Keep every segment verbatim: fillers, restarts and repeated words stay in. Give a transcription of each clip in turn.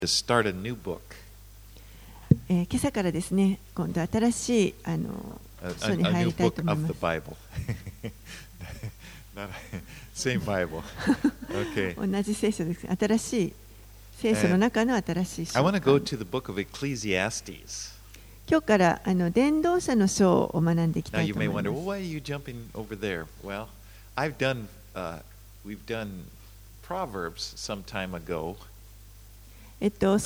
To start a new book. えー、今朝からですね、今度新しいあの書に入りたいと思います。 Same Bible. Okay. 同じ聖書です。新しい聖書の中の新しい書。 I want to go to the book of Ecclesiastes. 今日からあの伝道者の書を学んでいきた Now い you と may 思い wonder, ま well, す。 why are you jumping over there? Well, I've done, uh, we've done Proverbs some time ago. えっと、ち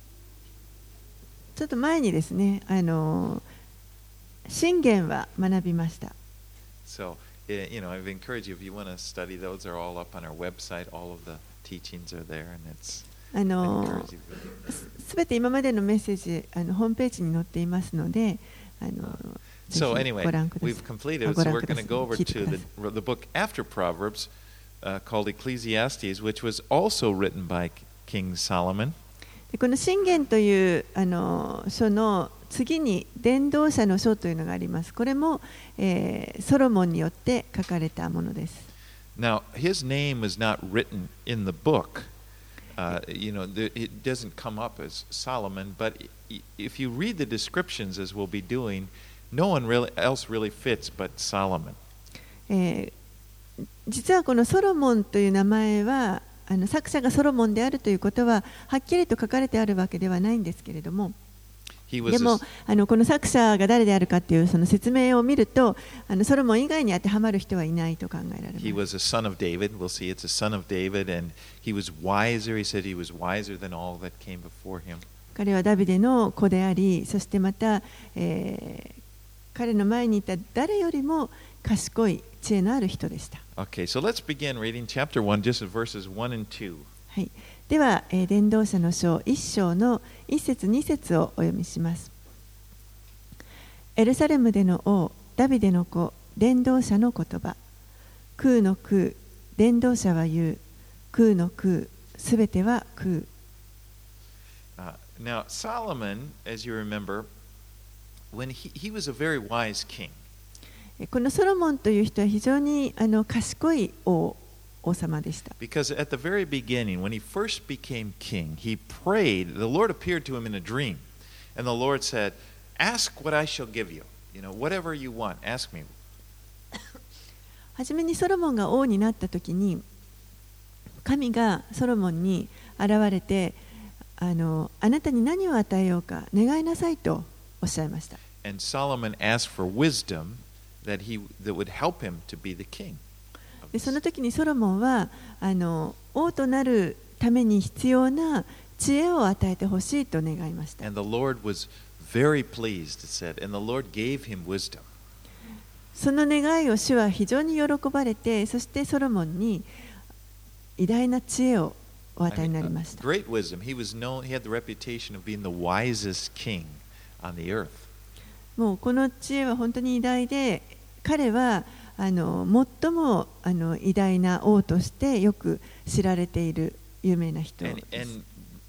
ょっと前にですね、あの箴言は学びました。 So, you know, I've encouraged you if you want to study those, are all up on our website. All of the teachings are there, and it's. あのすべて今までのメッセージあのホームページに載っていますので、あの So ぜひ anyway, ご覧ください。 we've completed it, ご so 覧 we're くだ going さ to い。 go over 聞いて to くだ the, さい。 the book after Proverbs uh, called Ecclesiastes, which was also written by King Solomon. でこの箴言というあの書の次に伝道者の書というのがあります。これも、えー、ソロモンによって書かれたものです。 Now, his name was not written in the book. Uh, you know, the, it doesn't come up as Solomon, but if you read the descriptions, as we'll be doing, no one really else really fits but Solomon. えー、実はこのソロモンという名前はあの作者がソロモンであるということははっきりと書かれてあるわけではないんですけれども、でもあのこの作者が誰であるかというその説明を見ると、あのソロモン以外に当てはまる人はいないと考えられます。 He was a son of David. We'll see it's a son of David, and he was wiser. He said he was wiser than all that came before him. 彼はダビデの子であり、そしてまた、えー、彼の前にいた誰よりも賢い知恵のある人でした。 Okay, so let's begin reading chapter one, just verses one and two. はい。では、えー、伝道者の書一章の一節二節をお読みします。エルサレムでの王、ダビデの子、伝道者の言葉。空の空、伝道者は言う。空の空、すべては空。 Uh, now, Solomon, as you remember, when he, he was a very wise king. このソロモンという人は非常にあの賢い王、王様でした。 Because at the very beginning, when he first became king, he prayed. The Lord appeared to him in a dream, and the Lord said, "Ask what I shall give you. You know, whatever you want, ask me." はじめにソロモンが王になったときに、神がソロモンに現れて、あの、あなたに何を与えようか願いなさいとおっしゃいました。 And Solomon asked for wisdom that he that would help him to be the king. でその時にソロモンはあの王となるために必要な知恵を与えてほしいと願いました。 And the Lord was very pleased, it said, and the Lord gave him wisdom. その願いを主は非常に喜ばれて、そしてソロモンに偉大な知恵をお与えになりました。 Great wisdom. He was known, he had the reputation of being the wisest king on the earth. もうこの知恵は本当に偉大で、彼はあの最もあの偉大な王としてよく知られている有名な人です。 And, and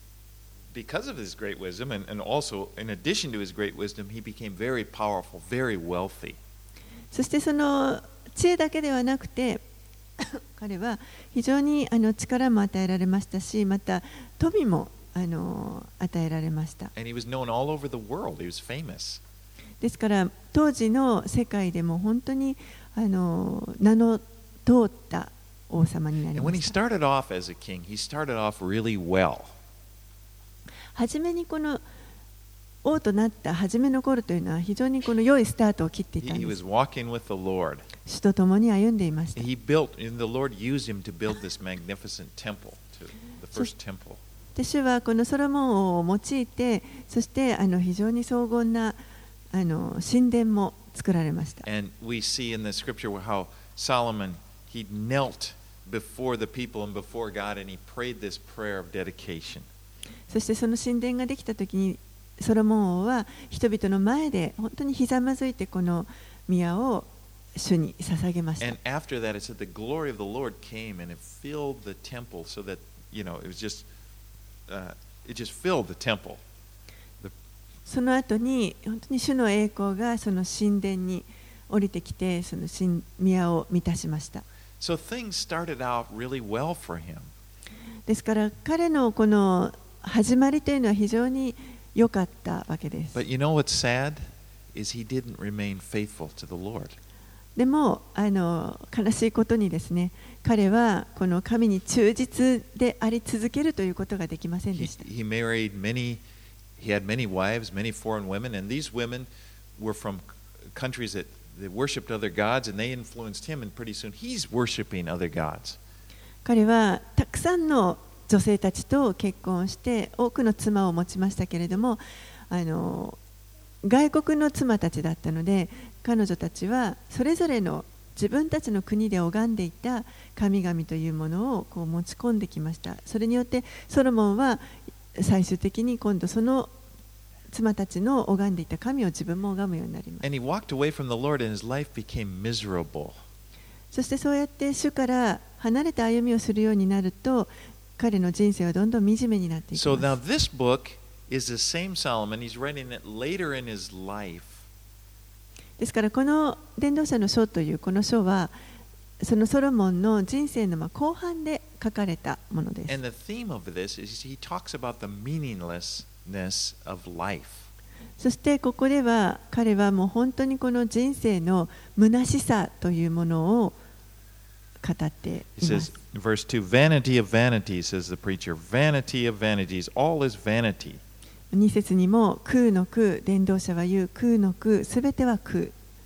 because of his great wisdom, and, and also in addition to his great wisdom, he became very powerful, very wealthy. そしてその知恵だけではなくて、彼は非常にあの力も与えられましたし、また富もあの与えられました。 And he was known all over the world. He was famous. ですから当時の世界でも本当にあの名の通った王様になり And ま when he した。 started off as a king, he started off really well. はじめにこの王となった初めの頃というのは非常にこの良いスタートを切っていたん He で was す。 walking with the Lord. 主と共に歩んでいました。 He built, and the Lord used him to build this magnificent temple, to the first temple. で主はこのソロモン王を用いて、そしてあの非常に荘厳なあの神殿も作られました。 And we see in the scripture how Solomon, he knelt before the people and before God, and he prayed this prayer of dedication. そしてその神殿ができたときに、ソロモン王は人々の前で本当にひざまずいてこの宮を主に捧げました。 And after that, it said the glory of the Lord came and it filled the temple, so that, you know, it was just, uh, it just filled the temple. その後に本当に主の栄光がその神殿に降りてきて、その神宮を満たしました。 So things started out really well for him. ですから彼のこの始まりというのは非常に良かったわけです。 But you know what's sad is he didn't remain faithful to the Lord. でもあの悲しいことにですね、彼はこの神に忠実であり続けるということができませんでした。 He, he married many, he had many wives, many foreign women, and these women were from countries that, that worshipped other gods, and they influenced him, and pretty soon he's worshiping other gods. 彼はたくさんの女性たちと結婚して多くの妻を持ちましたけれども、あの外国の妻たちだったので、彼女たちはそれぞれの自分たちの国で拝んでいた神々というものをこう持ち込んできました。それによってソロモンは最終的に今度その妻たちの拝んでいた神を自分も拝むようになります。 And he walked away from the Lord, and his life became miserable. そしてそうやって主から離れた歩みをするようになると、彼の人生はどんどん惨めになっていきます。 So now this book is the same Solomon. He's writing it later in his life. ですからこの伝道者の書というこの書はそのソロモンの人生のまあ後半で書かれたものです。 And the theme of this is he talks about the meaninglessness of life. そしてここでは彼はもう本当にこの人生の虚しさというものを語っています。 He says, verse two, vanity of vanities, says the preacher. Vanity of vanities, all is vanity. に節にも空の空、伝道者は言う空の空、すべては空。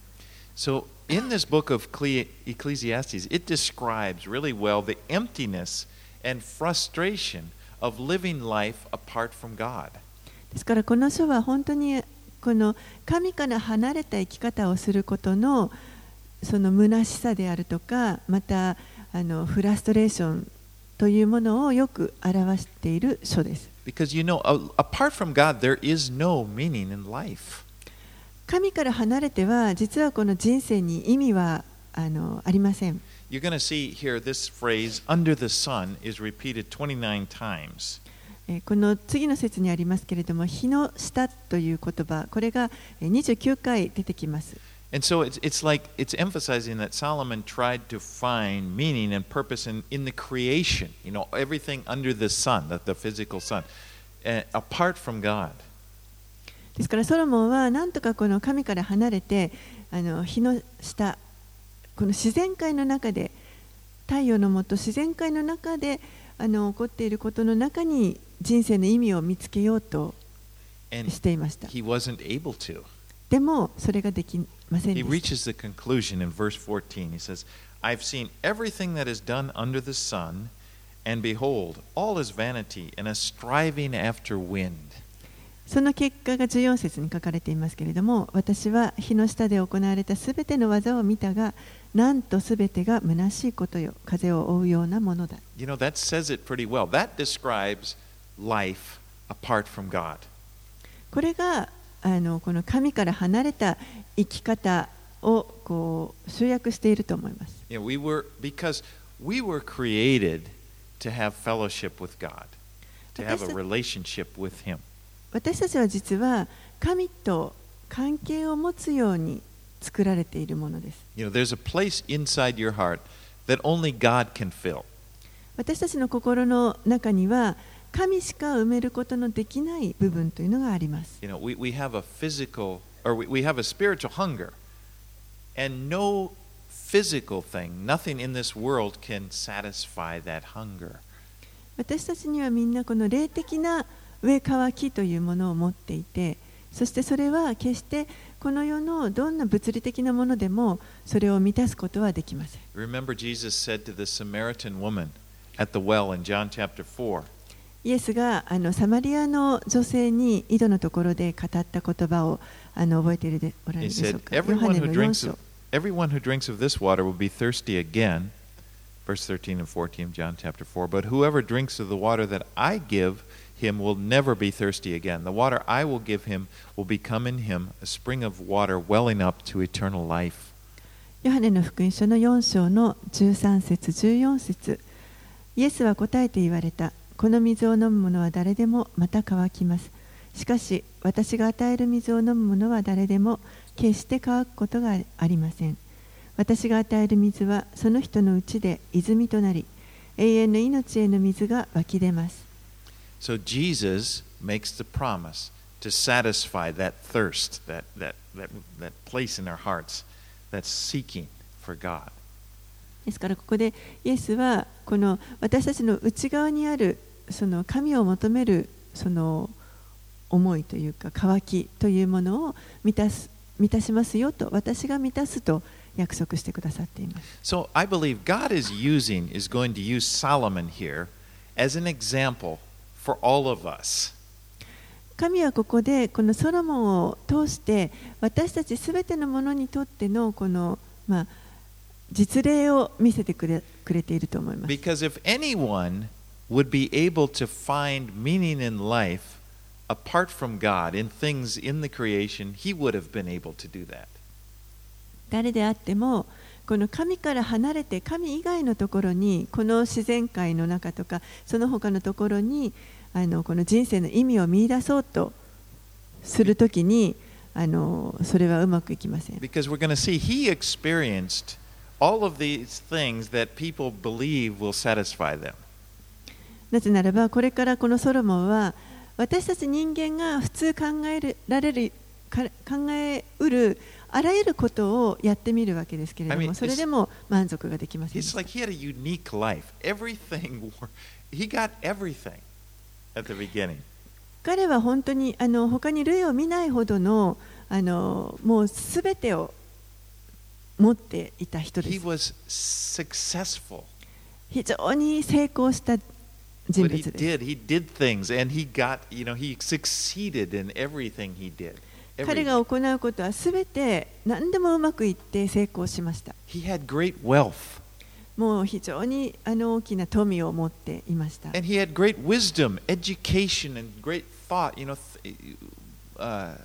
So in this book of Ecclesiastes, it describes really well the emptiness and frustration of living life apart from God. ですからこの書は本当にこの神から離れた生き方をすることのその虚しさであるとか、またあのフラストレーションというものをよく表している書です。 Because you know, apart from God, there is no meaning in life. 神から離れては実はこの人生に意味はあのありません。 You're going to see here this phrase, under the sun, is repeated twenty-nine times. この次の節にありますけれども、日の下という言葉、これがにじゅうきゅうかい出てきます。 And so it's, it's like it's emphasizing that Solomon tried to find meaning and purpose in, in the creation, you know, everything under the sun, the, the physical sun, uh, apart from God. ですからソロモンはなんとかこの神から離れて、あの日の下、この自然界の中で、太陽の下、自然界の中であの起こっていることの中に人生の意味を見つけようとしていました。 He wasn't able to. でもそれができませんでした。 He reaches the conclusion in verse fourteen. He says, I've seen everything that is done under the sun, and behold, all is vanity and a striving after wind. その結果がじゅうよん節に書かれていますけれども、私は日の下で行われたすべての技を見たが、なんとすべてが虚しいことよ、風を追うようなものだ。 You know, that says it pretty well. That describes life apart from God. これがあのこの神から離れた生き方をこう集約していると思います。 You know, we were, because we were created to have fellowship with God, to have a relationship with Him. 私たちは実は神と関係を持つように作られているものです。 You know, there's a place inside your heart that only God can fill. 私たちの心の中には神しか埋めることのできない部分というのがあります。 You know, we, we have a physical, or we, we have a spiritual hunger, and no physical thing, nothing in this world can satisfy that hunger. 私たちにはみんなこの霊的な上渇きというものを持っていて、そしてそれは決してこの世のどんな物理的なものでもそれを満たすことはできません。 Remember, Jesus said to the Samaritan woman at the well in John chapter four. イエスがあのサマリアの女性に井戸のところで語った言葉をあの覚えているでおられるでしょうか。ヨハネのよん章。 Everyone who drinks of this water will be thirsty again. Verse thirteen and fourteen of John chapter four. But whoever drinks of the water that I give him will never be thirsty again. The water I will give him will become in him a spring of water welling up to eternal life. ヨハネの福音書のよん章のじゅうさん節じゅうよん節。イエスは答えて言われた。この水を飲む者は誰でもまた乾きます。しかし私が与える水を飲む者は誰でも決して乾くことがありません。私が与える水はその人のうちで泉となり、永遠の命への水が湧き出ます。 So Jesus makes the promise to satisfy that thirst, that, that, that, that place in our hearts that's seeking for God. ですからここでイエスはこの私たちの内側にあるその神を求めるその思いというか渇きというものを満たす満たしますよと私が満たすと約束してくださっています。 So I believe God is using is going to use Solomon here as an example for all of us. 神はここでこのソロモンを通して私たちすべてのものにとってのこのまあ実例を見せてくれ、くれていると思います。 Because if anyone would be able to find meaning in life apart from God, in things in the creation, he would have been able to do that. 誰であっても、この神から離れて神以外のところに、この自然界の中とか、その他のところに、あのこの人生の意味を見出そうとするときに、あのそれはうまくいきません。 Because we're going to see he experienced all of these things that people believe will satisfy them. なぜならばこれからこのソロモンは私たち人間が普通考えられる考えうるあらゆることをやってみるわけですけれども、I mean, それでも満足ができませんでした。 It's like he had a unique life. Everything, he got everything at the beginning. 彼は本当にあの他に類を見ないほどのあのもうすべてを持っていた人です。 He was successful. 非常に成功した人物です。 But he did. He did things, and he got, you know, he succeeded in everything he did. 彼が行うことはすべて何でもうまくいって成功しました。 He had great wealth. もう非常にあの大きな富を持っていました。 And he had great wisdom, education, and great thought. You know, uh,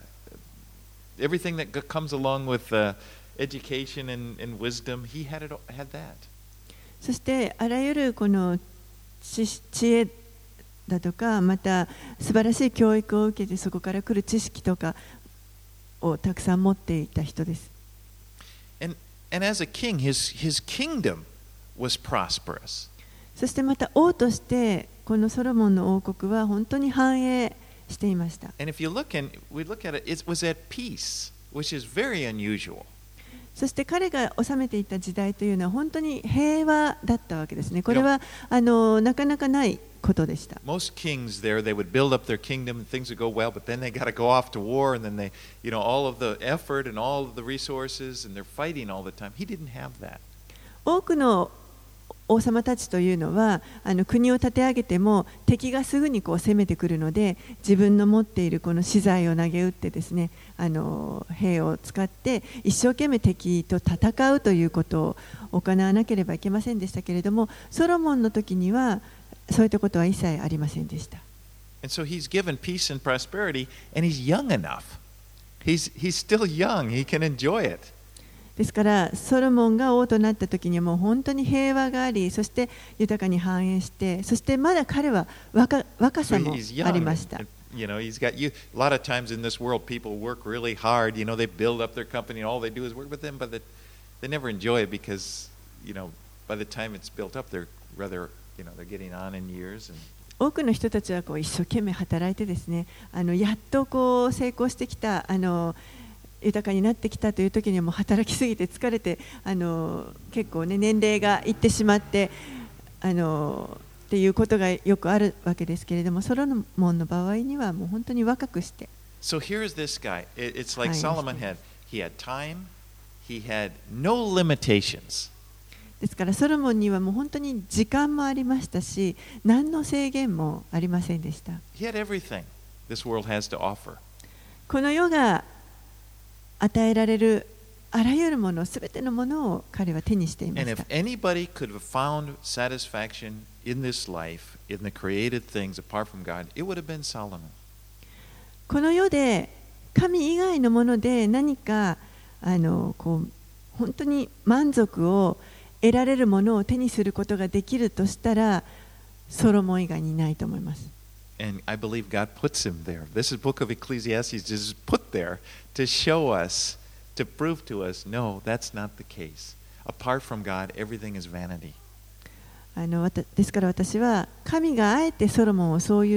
everything that comes along with uh, education and, and wisdom, he had it, had that. そしてあらゆるこの知恵だとか、また素晴らしい教育を受けてそこから来る知識とかをたくさん持っていた人です。 And, and as a king, his, his kingdom was prosperous. そしてまた王としてこのソロモンの王国は本当に繁栄していました。 And if you look and we look at it, it was at peace, which is very unusual. そして彼が治めていた時代というのは本当に平和だったわけですね。これはあのなかなかないことでした。 Most kings there, they would build up their kingdom and things would go well, but then they got to go off to war and then they, you know, all of the effort and all of the resources and they're fighting all the time. He didn't have that. 多くの王様たちというのはあの国を立て上げても敵がすぐにこう攻めてくるので自分の持っているこの資材を投げ打ってですねあの兵を使って一生懸命敵と戦うということを行わなければいけませんでしたけれどもソロモンの時にはそういったことは一切ありませんでした。 And so he's given peace and prosperity and he's young enough. He's, he's still young. He can enjoy it. ですからソロモンが王となった時にはもう本当に平和がありそして豊かに繁栄してそしてまだ彼は 若, 若さもありました。 You know, he's got you. A lot of times in this world, people work really hard. You know, they build up their company, and all they do is work with them, but they, they never enjoy it because, you know, by the time it's built up, they're rather, you know, they're getting on in years. And 多くの人たちはこう一生懸命働いてですね、あのやっとこう成功してきたあの。豊かになってきたという時にはもう働きすぎて疲れてあの結構ね年齢がいってしまってあのっていうことがよくあるわけですけれどもソロモンの場合にはもう本当に若くして So here's this guy. It's like Solomon had he had time, he had no limitations. ですからソロモンにはもう本当に時間もありましたし何の制限もありませんでした。 He had everything this world has to offer. この世が与えられるあらゆるものすべてのものを彼は手にしていました。 And if anybody could have found satisfaction in this life, in the created things apart from God, it would have been Solomon. この世で神以外のもので何かあのこう本当に満足を得られるものを手にすることができるとしたらソロモン以外にないと思います。 And I believe God puts him there. This is book of Ecclesiastes just put there to show us, to prove to us, no, that's not the case. Apart from God, everything is vanity. あのですから私は神があえてソロモンをそういうと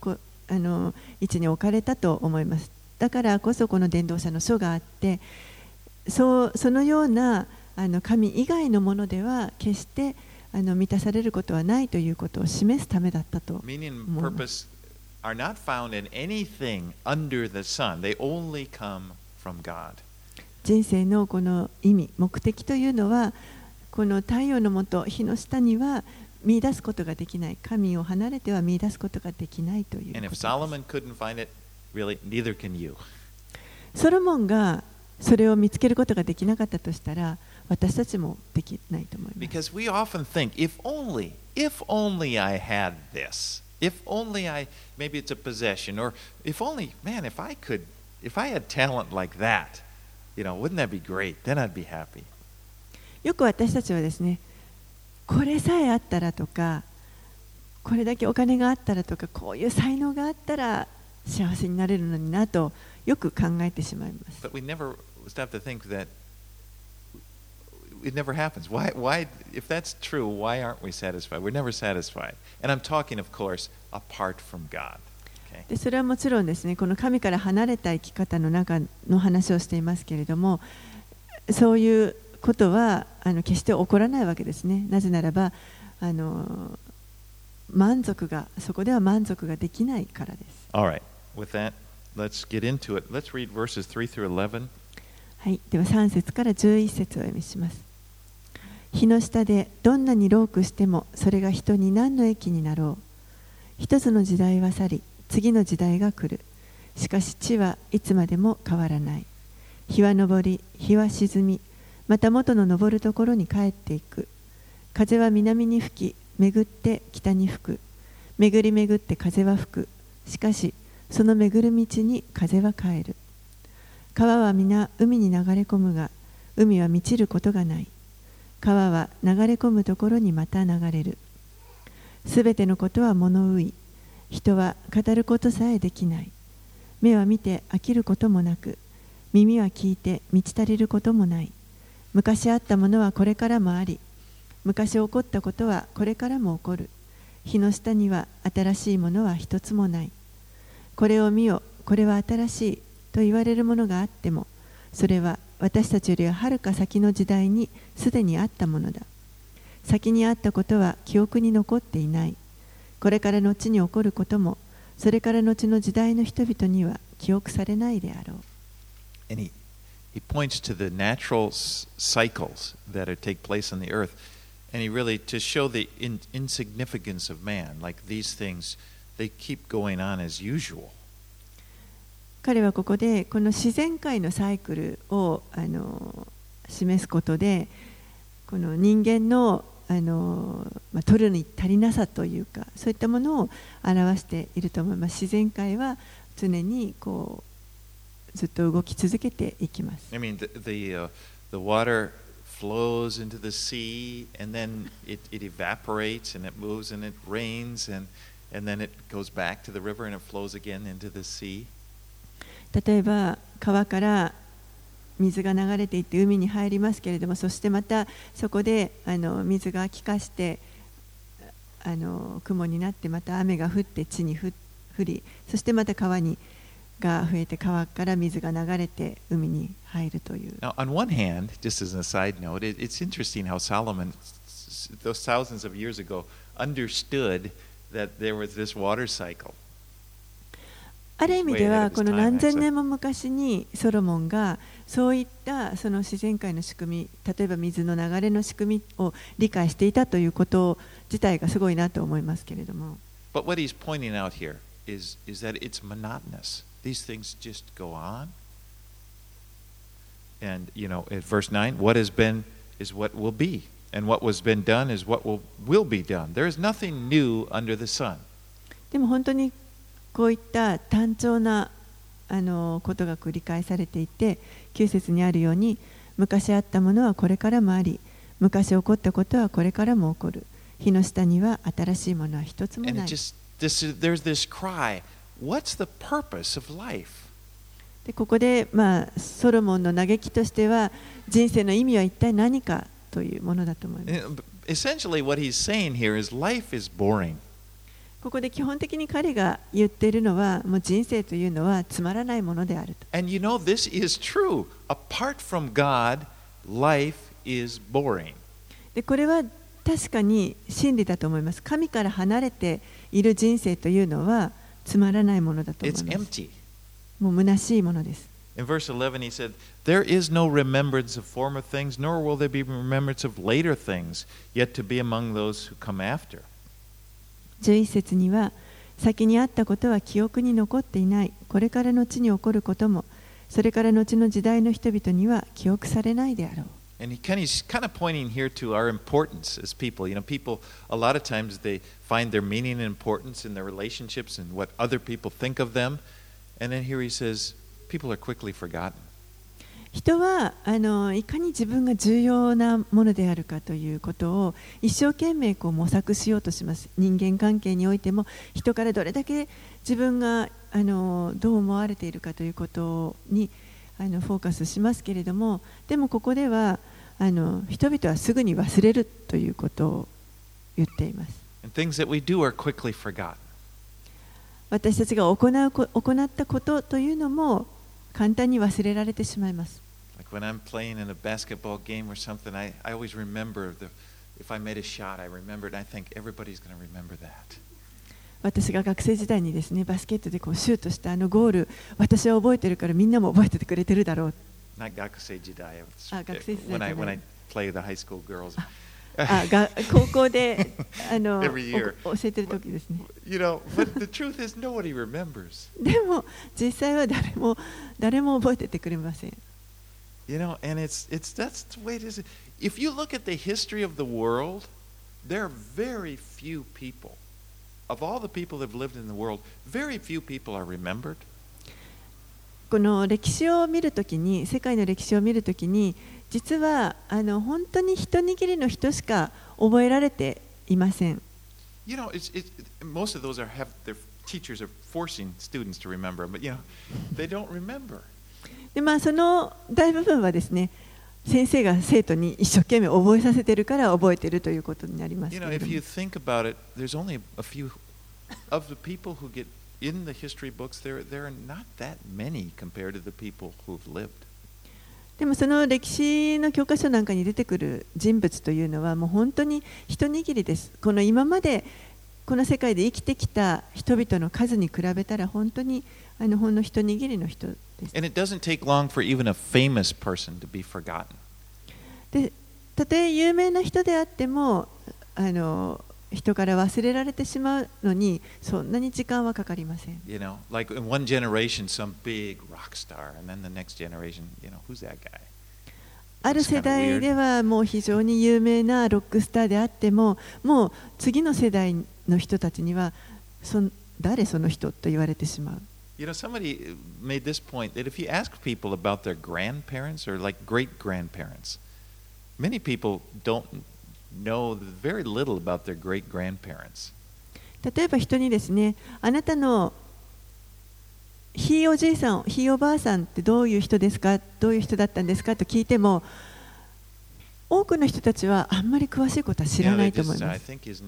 こあの位置に置かれたと思います。だからこそこの伝道者の書があって、そうそのようなあの神以外のものでは決してあの満たされることはないということを示すためだったと思います。 are not found in anything under the sun. They only come from God. 人生のこの意味、目的というのは、この太陽の下、日の下には見出すことができない。神を離れては見出すことができないということです。 And if Solomon couldn't find it, really, neither can you. ソロモンがそれを見つけることができなかったとしたら、私たちもできないと思います。 Because we often think, if only, if only I had this.If only I, maybe it's a possession, or if only, man, if I could, if I had talent like that, you know, wouldn't that be great? Then I'd be happy. よく私たちはですね、これさえあったらとか、これだけお金があったらとか、こういう才能があったら幸せになれるのになとよく考えてしまいます。 But we never stop to think that it never happens. Why, why, if that's true, why aren't we satisfied? We're never satisfied. And I'm talking, of course, apart from God. Okay? でそれはもちろんですね、この神から離れた生き方の中の話をしていますけれども、そういうことはあの決して起こらないわけですね。なぜならば、あの満足が、そこでは満足ができないからです。 All right. With that, let's get into it. Let's read verses three through eleven. はい。ではさん節からじゅういち節をお読みします。日の下でどんなに労苦してもそれが人に何の益になろう。一つの時代は去り、次の時代が来る。しかし地はいつまでも変わらない。日は昇り、日は沈み、また元の昇るところに帰っていく。風は南に吹き、巡って北に吹く。巡り巡って風は吹く。しかしその巡る道に風は帰る。川は皆海に流れ込むが、海は満ちることがない。川は流れ込むところにまた流れる。すべてのことは物憂い。人は語ることさえできない。目は見て飽きることもなく、耳は聞いて満ち足りることもない。昔あったものはこれからもあり、昔起こったことはこれからも起こる。日の下には新しいものは一つもない。これを見よ、これは新しいと言われるものがあっても、それは私たちよりはるか先の時代にすでにあったものだ。先にあったことは記憶に残っていない。これから後に起こることも、それから後の時代の人々には記憶されないであろう。 And he, he points to the natural cycles that are take place on the earth, and he really, to show the in, insignificance of man, like these things, they keep going on as usual. 彼はここでこの自然界のサイクルをあの示すことで、この人間のあの、まあ、取るに足りなさというか、そういったものを表していると思います。自然界は常にこうずっと動き続けていきます。 I mean, the, the, uh, the water flows into the sea, and then it, it evaporates, and it moves, and it rains, and, and then it goes back to the river, and it flows again into the sea. 例えば川から水が流れていって海に入りますけれども、そしてまたそこであの水が気化してあの雲になって、また雨が降って地に降り、そしてまた川にが増えて、川から水が流れて海に入るという。 Now, on one hand, just as a side note, it, it's interesting how Solomon, those thousands of years ago, understood that there was this water cycle. ある意味ではこの何千年も昔にソロモンがそういったその自然界の仕組み、例えば水の流れの仕組みを理解していたということ自体がすごいなと思いますけれども。 But what he's pointing out here is, is that it's monotonous. These things just go on. And, you know, at verse nine, what has been is what will be. And what was been done is what will, will be done. There is nothing new under the sun. でも本当にこういった単調なあのことが繰り返されていて、きゅう節にあるように、昔あったものはこれからもあり、昔起こったことはこれからも起こる。日の下には新しいものは一つもない。 And it just, this, there's this cry, what's the purpose of life? でここで、まあ、ソロモンの嘆きとしては、人生の意味は一体何かというものだと思います。 Essentially what he's saying here is life is boring. ここで基本的に彼が言っているのは、もう人生というのはつまらないものであると。 And you know, this is true. Apart from God, life is boring. で、これは確かに真理だと思います。神から離れている人生というのはつまらないものだと思い It's ます。 empty. もう虚しいものです。 In verse eleven, he said, There is no remembrance of former things, nor will there be remembrance of later things, yet to be among those who come after. じゅういち節には、先にあったことは記憶に残っていない。これから後に起こることも、それから後の時代の人々には記憶されないであろう。 And he kind of, he's kind of pointing here to our importance as people. You know, people, a lot of times they find their meaning and importance in their relationships and what other people think of them. And then here he says, people are quickly forgotten. 人はあのいかに自分が重要なものであるかということを一生懸命こう模索しようとします。人間関係においても人からどれだけ自分があのどう思われているかということにあのフォーカスしますけれども、でもここではあの人々はすぐに忘れるということを言っています。 And things that we do are quickly forgotten. 私たちが行うこ行ったことというのも簡単に忘れられてしまいます。 Like when I'm playing in a basketball game or something, I, I always remember the, if I made a shot, I remember it. I think everybody's going to remember that. 私が学生時代にですね、バスケットでこうシュートしたあのゴール、私は覚えてるからみんなも覚えててくれてるだろう。 Not 学生時代. あ、学生時代 When じゃ I, な when I い。 play the high school girls. あ、が高校であの Every year. お教えてる時ですね。 You know, but the truth is nobody remembers. でも実際は誰も誰も覚えててくれません。 You know, and it's it's that's the way it is. If you look at the history of the world, there are very few people. Of all the people that have lived in the world, very few people are remembered. この歴史を見るときに、世界の歴史を見るときに、実はあの本当に一握りの人しか覚えられていません。 You know, it's, it's, most of those are have their teachers are forcing students to remember, but you know, they don't remember. でまあ、その大部分はですね、先生が生徒に一生懸命覚えさせてるから覚えてるということになりますけ You れ know, ど if も。 you think about it, there's only a few of the people who get in the history books. There, there are not that many compared to the people who've lived. でもその歴史の教科書なんかに出てくる人物というのはもう本当に一握りです。この今までこの世界で生きてきた人々の数に比べたら本当にあのほんの一握りの人です。 And it doesn't take long for even a famous person to be forgotten. で、たとえ有名な人であってもあの人から忘れられてしまうのにそんなに時間はかかりません。 You know, like in one generation, some big rock star, and then the next generation, you know, who's that guy? ある世代ではもう非常に有名なロックスターであっても、もう次の世代の人たちにはそ誰その人と言われてしまう。 You know, somebody made this point that if you ask people about their grandparents or like great grandparents, many people don't know very little about their great grandparents. 例えば人にですね、あなたのひいおじいさん、ひいおばあさんってどういう人ですか、どういう人だったんですかと聞いても、多くの人たちはあんまり詳しいことは知らないと思います。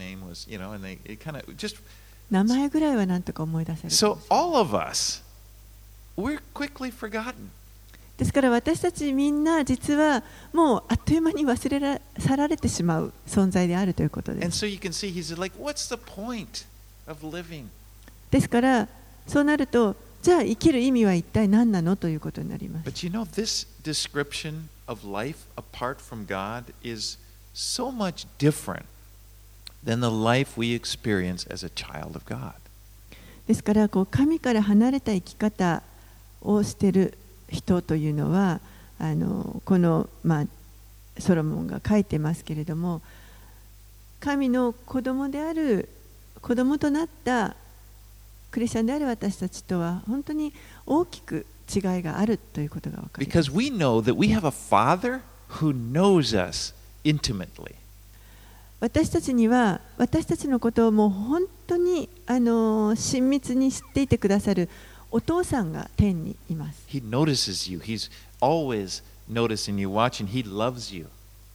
名前ぐらいはなんとか思い出せる。 So all of us, we're quickly forgotten. ですから私たちみんな実はもうあっという間に忘れら去られてしまう存在であるということです。 And so you can see he's like, what's the point of living? ですからそうなると、じゃあ生きる意味は一体何なのということになります。 But you know, this description of life apart from God is so much different than the life we experience as a child of God. ですからこう神から離れた生き方をしている人というのは、あのこの、まあ、ソロモンが書いてますけれども、神の子供である子供となったクリスチャンである私たちとは本当に大きく違いがあるということが分かります。 Because we know that we have a Father who knows us intimately. 私たちには私たちのことをもう本当にあの親密に知っていてくださるお父さんが天にいます。 He notices you. He's always noticing you, watching. He loves you.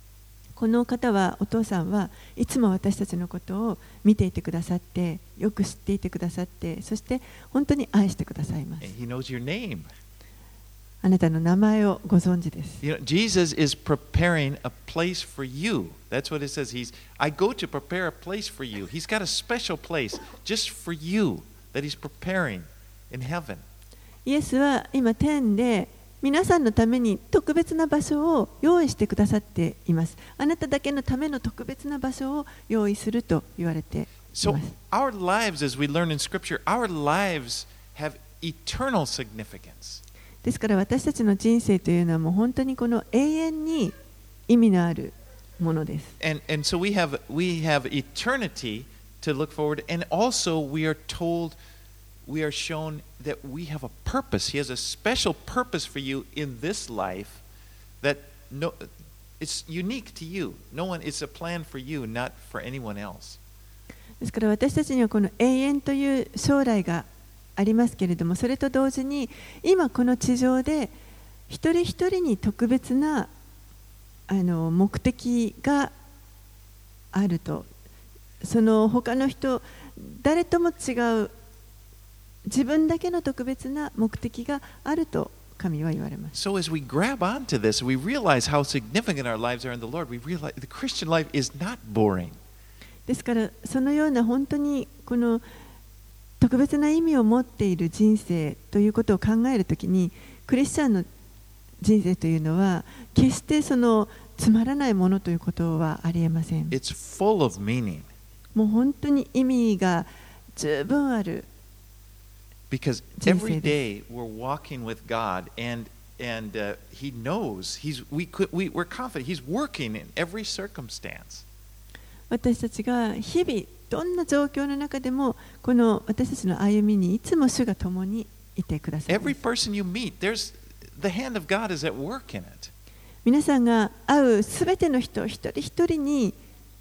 この方は、お父さんはいつも私たちのことを見ていてくださって、よく知っていてくださって、そして本当に愛してくださいます。 He knows your name. あなたの名前をご存知です。 You know, Jesus is preparing a place for you. That's what it says. He's, I go to prepare a place for you. He's got a special place just for you that he's preparing in heaven. イエスは今天で皆さんのために特別な場所を用意してくださっています。あなただけのための特別な場所を用意すると言われています。 So our lives, as we learn in Scripture, our lives have eternal significance. ですから私たちの人生というのはもう本当にこの永遠に意味のあるものです。 And, and so we have, we have eternity to look forward, and also we are told, we are shown that we have a purpose. He has a special purpose for you in this life that no, it's unique to you. No one, it's a plan for you, not for anyone else. ですから私たちにはこの永遠という将来がありますけれども、それと同時に今この地上で一人一人に特別なあの目的があると、その他の人誰とも違う自分だけの特別な目的があると神は言われます。 So as we grab onto this, we realize how significant our lives are in the Lord. We realize the Christian life is not boring. ですからそのような本当にこの特別な意味を持っている人生ということを考えるときに、クリスチャンの人生というのは決してそのつまらないものということはありえません。 It's full of meaning. もう本当に意味が十分ある。 Because every day we're walking with God, and and uh, He knows He's we could we we're confident He's working in every circumstance. 私たちが日々どんな状況の中でもこの私たちの歩みにいつも主が共にいてくださいます。 Every person you meet, there's the hand of God is at work in it. 皆さんが会うすべての人一人一人に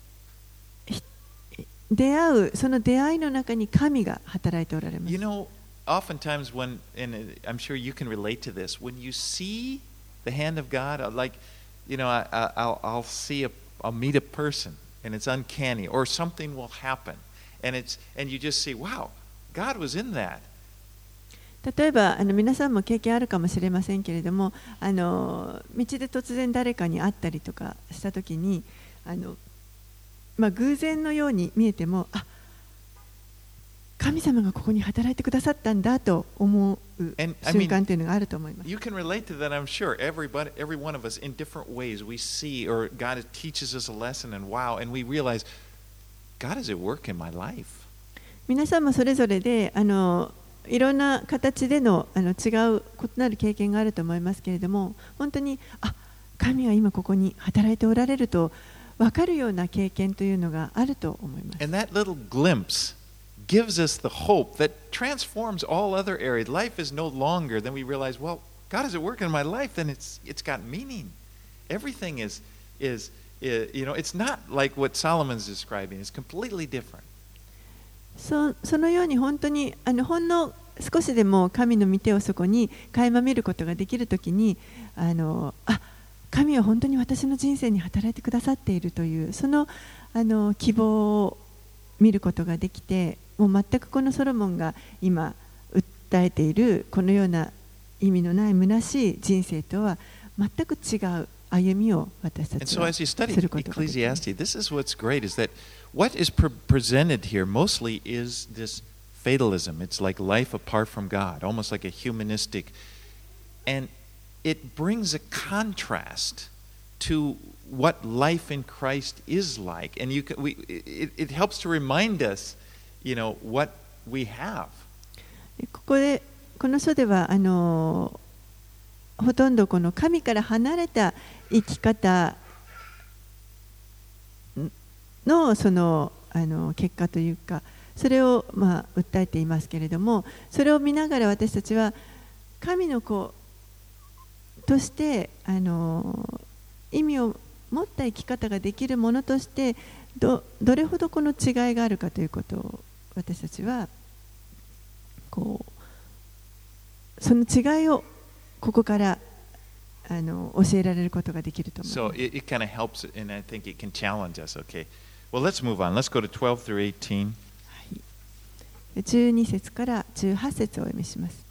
出会うその出会いの中に神が働いておられます。 You know, oftentimes when, and I'm sure you can relate to this, when you see the hand of God, like, you know, I, I, I'll, I'll see a, I'll meet a person, and it's uncanny, or something will happen, and it's, and you just see, wow, God was in that. 例えばあの皆さんも経験あるかもしれませんけれども、あの道で突然誰かに会ったりとかしたときに、あの、まあ、偶然のように見えても、あ、神様がここに働いてくださったんだと思う瞬間というのがあると思います。 You can relate to that, I'm sure. Everybody, every one of us, in different ways, we see, or God teaches us a lesson, and wow, and we realize, God is at work in my life. 皆さんもそれぞれで、あのいろんな形での、あの違う異なる経験があると思いますけれども、本当に、あ、神は今ここに働いておられると分かるような経験というのがあると思います。 And that little glimpse gives us the hope that transforms all other areas. Life is no longer, then we realize, well, God is at work in my life, then it's it's got meaning. Everything is is, is you know, it's not like what Solomon's describing. It's completely different. そ, そのように本当にあのほんの少しでも神の御手をそこに垣間見ることができるときに、あのあ、神は本当に私の人生に働いてくださっているというその、あの希望を見ることができて、もう全くこのソロモンが今訴えているこのような意味のない虚しい人生とは全く違う歩みを私たちはすることができます。 Ecclesiastes, this is what's great is that what is pre presented here mostly is this fatalism. It's like life apart from God, almost like a humanistic, and it brings a contrast to what life in Christ is like, and you can, we, it, it helps to remind us, you know, what we have. ここでこの書ではあのほとんどこの神から離れた生き方のそのあの結果というか、それをまあ訴えていますけれども、それを見ながら私たちは神の子としてあの意味を持った生き方ができるものとして ど, どれほどこの違いがあるかということを私たちはこうその違いをここからあの教えられることができると思います。 So it, it kind of helps, and I think it can challenge us. Okay. Well, let's move on. Let's go to twelve through eighteen. じゅうに節からじゅうはち節をお読みします。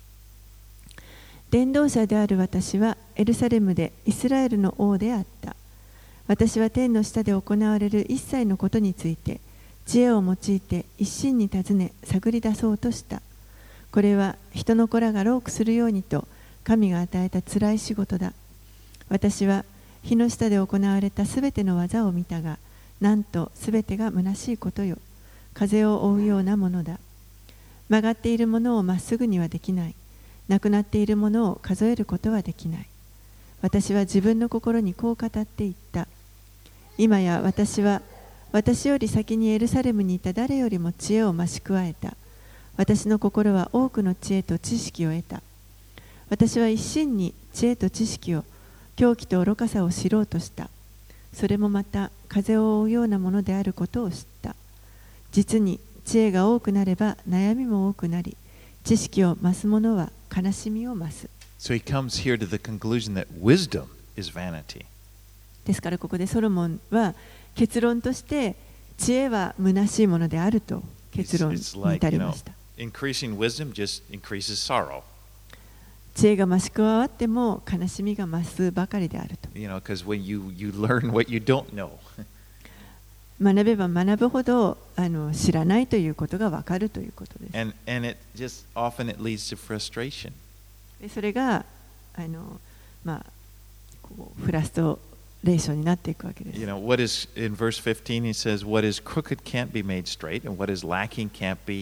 伝道者である私はエルサレムでイスラエルの王であった。私は天の下で行われる一切のことについて知恵を用いて一心に尋ね探り出そうとした。これは人の子らが労苦するようにと神が与えたつらい仕事だ。私は日の下で行われたすべての技を見たが、なんとすべてが虚しいことよ。風を追うようなものだ。曲がっているものをまっすぐにはできない。なくなっているものを数えることはできない。私は自分の心にこう語っていった。今や私は私より先にエルサレムにいた誰よりも知恵を増し加えた。私の心は多くの知恵と知識を得た。私は一心に知恵と知識を、狂気と愚かさを知ろうとした。それもまた風を追うようなものであることを知った。実に知恵が多くなれば悩みも多くなり、知識を増す者は悲しみを増す。 So he comes here to the conclusion that wisdom is vanity. ですからここでソロモンは結論として知恵は虚しいものであると結論に至りました。 Increasing wisdom just increases sorrow. 知恵が増し加わっても悲しみが増すばかりであると。 You know, because when you you learn what you don't know. 学べば学ぶほどあの知らないということがわかるということです。 And and it just often it leads to frustration. でそれがあのまあこうフラストレーションになっていくわけです。 You know, what is in verse fifteen he says what is crooked can't be made straight and what is lacking can't be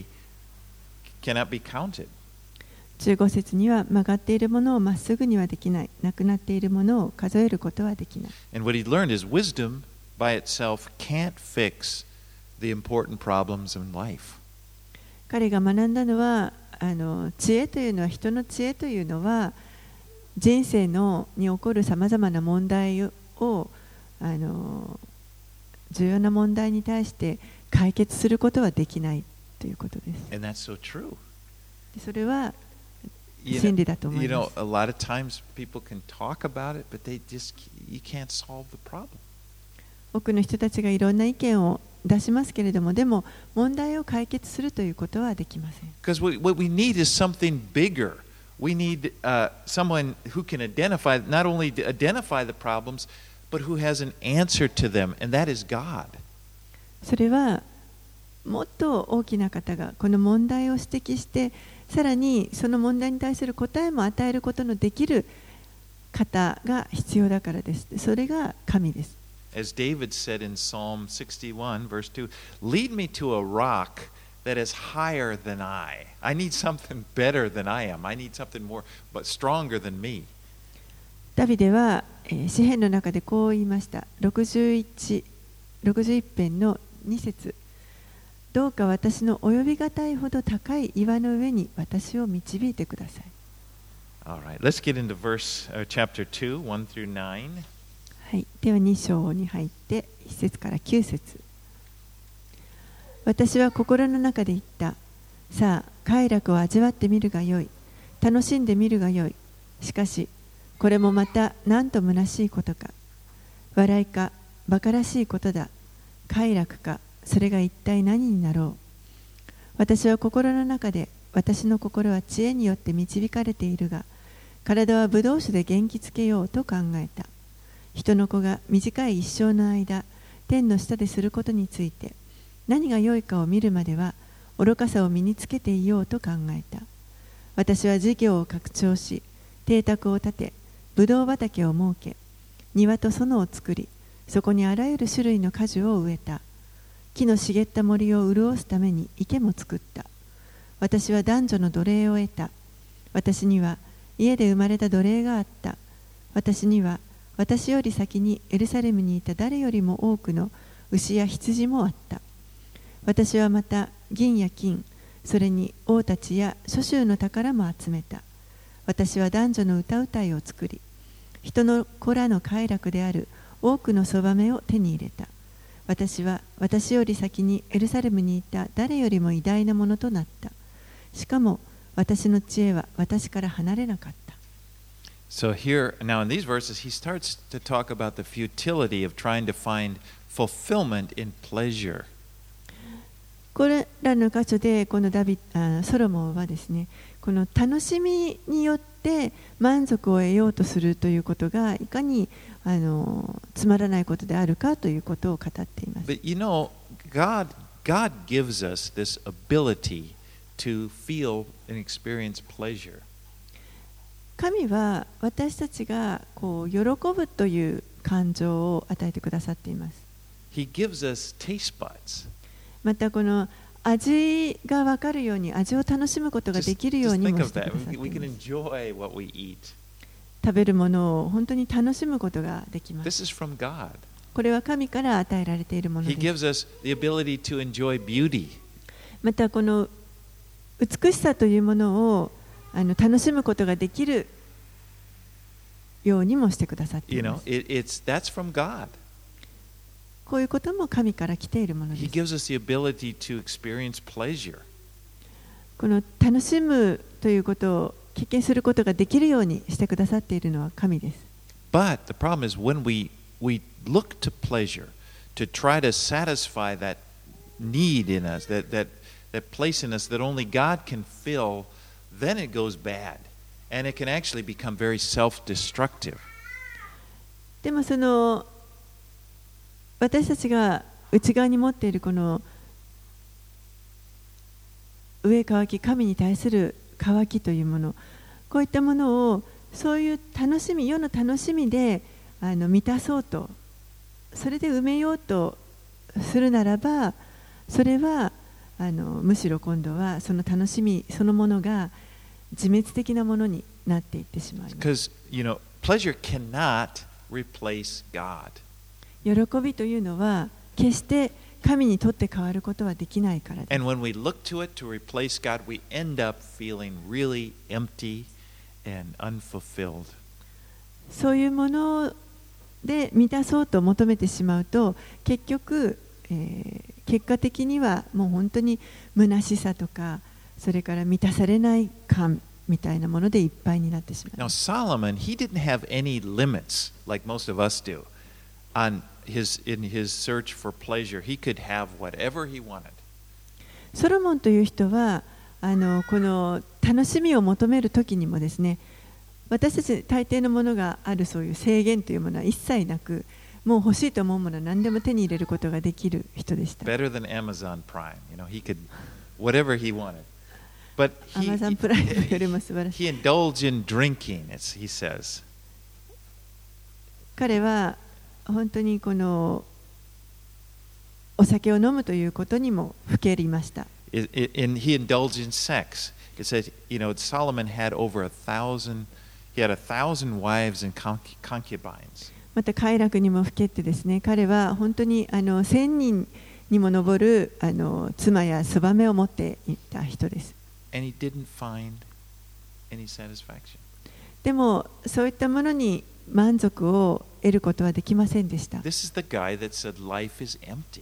cannot be counted. じゅうご節には曲がっているものをまっすぐにはできない、なくなっているものを数えることはできない。 And what he learned is wisdom by itself can't fix the important problems in life. 彼が学んだのはあの知恵というのは人の知恵というのは人生のに起こるさまざまな問題をあの重要な問題に対して解決することはできないということです。 And that's so true. それは真理だと思います。 You know, a lot of times people can talk about it, but they just you can't solve the problem. 多くの人たちがいろんな意見を出しますけれども、でも問題を解決するということはできません。 Because what we need is something bigger. We need uh, someone who can identify, not only identify the problems, but who has an answer to them, and that is God. それはもっと大きな方がこの問題を指摘して、さらにその問題に対する答えも与えることのできる方が必要だからです。それが神です。 As David said in Psalm sixty-one, verse two, lead me to a rock that is higher than I. I need something better than I am. I need something more, but stronger than me. ダビデは、えー、詩篇の中でこう言いました。ろくじゅういち、ろくじゅういち編のに節。どうか私の及びがたいほど高い岩の上に私を導いてください。 All right, let's get into verse, uh, chapter two, one through nine. はい、ではに章に入っていち節からきゅう節。私は心の中で言った。さあ、快楽を味わってみるがよい。楽しんでみるがよい。しかし、これもまたなんと虚しいことか。笑いか、馬鹿らしいことだ。快楽か。それが一体何になろう。私は心の中で、私の心は知恵によって導かれているが、体はブドウ酒で元気つけようと考えた。人の子が短い一生の間、天の下ですることについて、何が良いかを見るまでは、愚かさを身につけていようと考えた。私は事業を拡張し、邸宅を建て、ブドウ畑を設け、庭と園を作り、そこにあらゆる種類の果樹を植えた。木の茂った森を潤すために池も作った。私は男女の奴隷を得た。私には家で生まれた奴隷があった。私には私より先にエルサレムにいた誰よりも多くの牛や羊もあった。私はまた銀や金、それに王たちや諸州の宝も集めた。私は男女の歌うたいを作り、人の子らの快楽である多くのそばめを手に入れた。私は私より先にエルサレムにいた誰よりも偉大なものとなった。しかも私の知恵は私から離れなかった。 So here, now in these verses, he starts to talk about the futility of trying to find fulfillment in pleasure. これらの箇所でこのダビあソロモンはですね、この楽しみによって満足を得ようとするということがいかにあのつまらないことであるかということを語っています。 But you know, God, God gives us this ability to feel and experience pleasure. 神は私たちがこう喜ぶという感情を与えてくださっています。 He gives us taste buds. またこの味が分かるように味を楽しむことができるようにもしてくださっています。食べるものを本当に楽しむことができます。 This is from God. これは神から与えられているものです。 He gives us the ability to enjoy beauty. またこの美しさというものをあの楽しむことができるようにもしてくださっています。 You know, it, it's, that's from God. こういうことも神から来ているものです。 He gives us the ability to experience pleasure. この楽しむということを経験することができるようにしてくださっているのは神です。 But the problem is when we, we look to pleasure to try to satisfy that need in us, that, that, that place in us that only God can fill, then it goes bad. And it can actually become very self-destructive. でもその私たちが内側に持っているこの上渇き神に対する渇きというもの、こういったものをそういう楽しみ、世の楽しみであの満たそうと、それで埋めようとするならば、それはあのむしろ今度はその楽しみそのものが自滅的なものになっていってしまいます。 Because, you know, pleasure cannot replace God. 喜びというのは決して神にとって変わることはできないからです。 And when we look to it to replace God, we end up feeling really empty and unfulfilled. そういうもので満たそうと求めてしまうと、結局、えー、結果的にはもう本当に虚しさとか、それから満たされない感みたいなものでいっぱいになってしまう。 Now Solomon, he didn't have any limits like most of us do on his in his search for pleasure. He could have whatever he wanted. ソロモンという人はあのこの楽しみを求めるときにもですね、私たち大抵のものがあるそういう制限というものは一切なく、もう欲しいと思うものは何でも手に入れることができる人でした。 Better than Amazon Prime, you know, he could whatever he wanted. But he, Amazon Prime よりも素晴らしい。 he indulged in drinking, as he says. 彼は本当にこのお酒を飲むということにもふけりました。 And he indulged in sex. It says, you know, Solomon had over a thousand, he had a thousand wives and concubines. また快楽にもふけってですね、彼は本当にあの千人にも上るあの妻やそばめを持っていた人です。 And he didn't find any satisfaction. でもそういったものに満足を得ることはできませんでした。 This is the guy that said life is empty.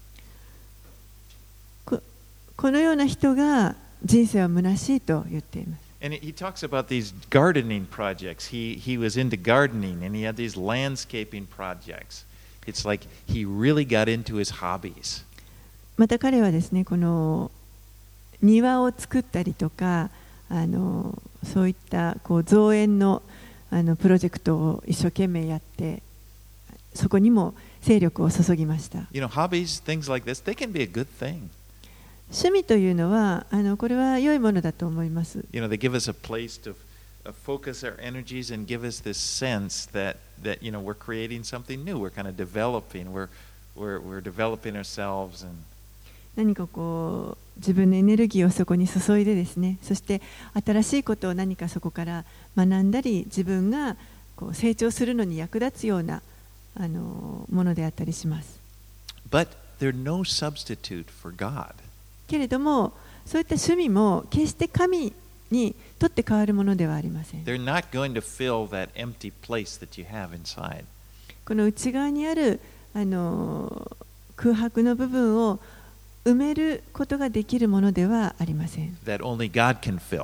こ, このような人が人生は虚しいと言っています。 And he talks about these gardening projects. He, he was into gardening and he had these landscaping projects. It's like he really got into his hobbies. また彼はですね、この庭を作ったりとか、あのそういったこう造園のあのプロジェクトを一生懸命やって、そこにも精力を注ぎました。 You know, hobbies, things like this, they can be a good thing. 趣味というのはあのこれは良いものだと思います。 You know, they give us a place to focus our energies and give us this sense that that you know we're creating something new. We're kind of developing. We're we're we're developing ourselves and 何かこう自分のエネルギーをそこに注いでですね、そして新しいことを何かそこから学んだり、自分がこう成長するのに役立つようなあのものであったりします。 But they're no substitute for God. けれども、そういった趣味も決して神にとって変わるものではありません。 They're not going to fill that empty place that you have inside. この内側にあるあの空白の部分を埋めることができるものではありません。 That only God can fill.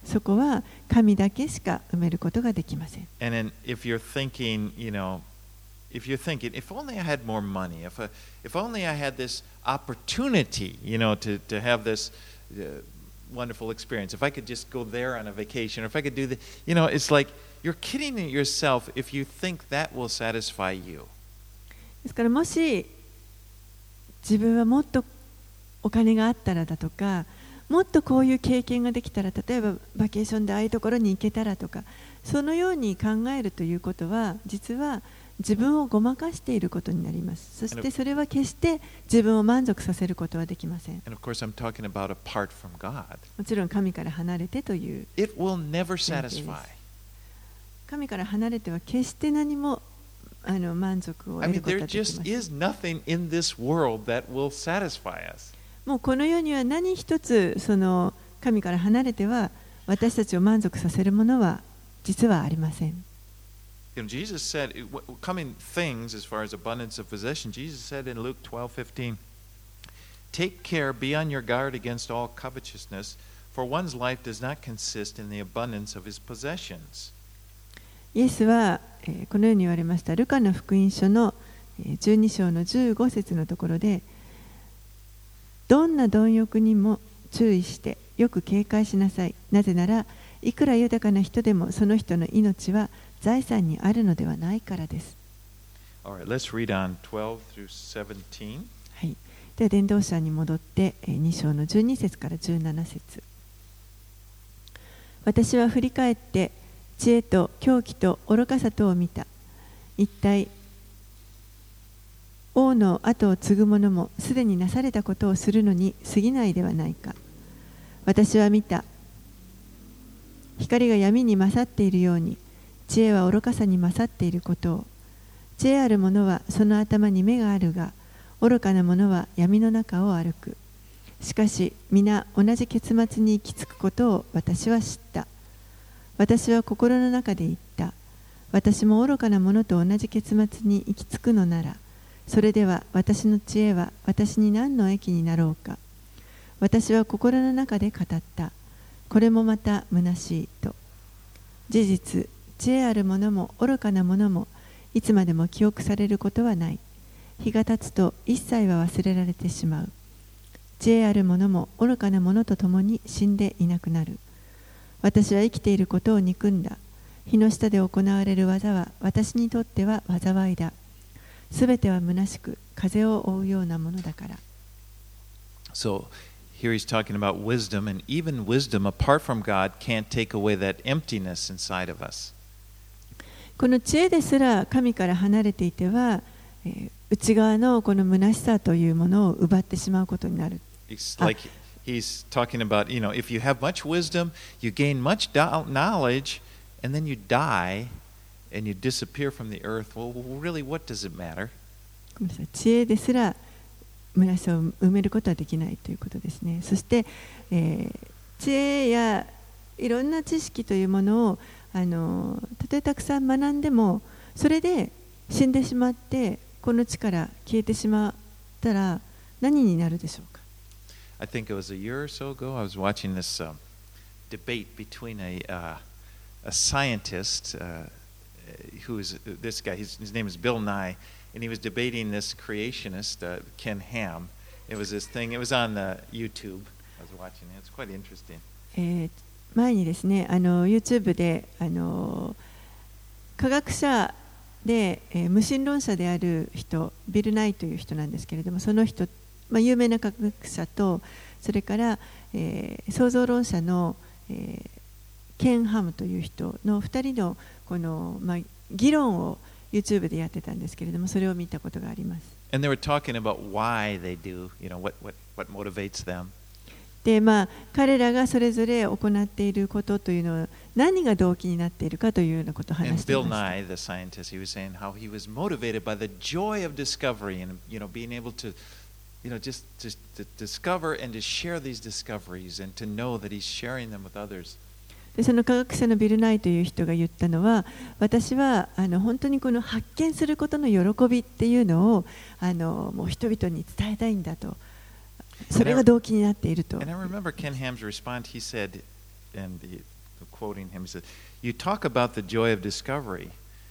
そこは神だけしか埋めることができません。 And then if you're thinking, you know, if you're thinking, if only I had more money, if I, if only I had this opportunity, you know, to, to have this uh, wonderful experience, if I could just go there on a vacation, or if I could do the, you know, it's like you're kidding yourself if you think that will satisfy you. ですからもし自分はもっとお金があったらだとか、もっとこういう経験ができたら、例えばバケーションでああいうところに行けたらとか、そのように考えるということは実は自分をごまかしていることになります。そしてそれは決して自分を満足させることはできません。 And of course, I'm talking about apart from God. もちろん神から離れてという。 It will never satisfy. 神から離れては決して何もあの満足を得ることはできません。 I mean, there just is nothing in this world that will satisfy us. もうこの世には何一つその神から離れては私たちを満足させるものは実はありません。 You know, Jesus said, coming things as far as abundance of possession, Jesus said in Luke twelve fifteen, take care, be on your guard against all covetousness, for one's life does not consist in the abundance of his possessions. イエスは、えー、このように言われました。ルカの福音書のじゅうに章のじゅうご節のところで、どんな貪欲にも注意してよく警戒しなさい。なぜなら、いくら豊かな人でもその人の命は財産にあるのではないからです。 Alright, let's read on twelve through seventeen. はい。では伝道者に戻ってに章のじゅうに節からじゅうなな節。私は振り返って知恵と狂気と愚かさとを見た。一体王の後を継ぐ者もすでになされたことをするのに過ぎないではないか。私は見た。光が闇に勝っているように、知恵は愚かさに勝っていることを。知恵ある者はその頭に目があるが、愚かな者は闇の中を歩く。しかし皆同じ結末に行き着くことを私は知った。私は心の中で言った。私も愚かな者と同じ結末に行き着くのなら、それでは私の知恵は私に何の益になろうか。私は心の中で語った。これもまた虚しいと。事実、知恵ある者も愚かな者もいつまでも記憶されることはない。日が経つと一切は忘れられてしまう。知恵ある者も愚かな者と共に死んでいなくなる。私は生きていることを憎んだ。日の下で行われる技は私にとっては災いだ。すべては虚しく風を追うようなものだから。 So here he's talking about wisdom, and even wisdom apart from God can't take away that emptiness inside of us. この知恵ですら神から離れていては、えー、内側のこの虚しさというものを奪ってしまうことになる。 It's like he's talking about, you know, if you have much wisdom, you gain much knowledge, and then you die and you disappear from the earth. Well, really, what does it matter? ごめんなさい。知恵ですら虚しさを埋めることはできないということですね。そして、えー、知恵やいろんな知識というものをあのたとえたくさん学んでもそれで死んでしまってこの地から消えてしまったら何になるでしょうか。 I think it was a year or so ago I was watching this、um, debate between a, uh, a scientist uh, who is this guy, his, his name is Bill Nye, and he was debating this creationist, uh, Ken Ham. It was this thing, it was on the YouTube. I was watching it. It's quite interesting. えー、前にですね、あの YouTube であの科学者で、えー、無神論者である人、ビル・ナイという人なんですけれども、その人、まあ、有名な科学者と、それから、えー、創造論者の、えー、ケン・ハムという人のふたりのこの、まあ、議論をYouTube でやってたんですけれども、それを見たことがあります。 And they were talking about why they do, you know, what, what, what motivates them. で、まあ、彼らがそれぞれ行っていることというのは何が動機になっているかというようなことを話していました。 And Bill Nye, the scientist, he was saying how he was motivated by the joy of discovery and, you know, being able to, you know, just, just to discover and to share these discoveries and to know that he's sharing them with others. でその科学者のビル・ナイという人が言ったのは、私はあの本当にこの発見することの喜びっていうのをあのもう人々に伝えたいんだと、それが動機になっていると。 And I remember Ken Ham's response. He said, and quoting him. He said, "You talk about the joy of discovery,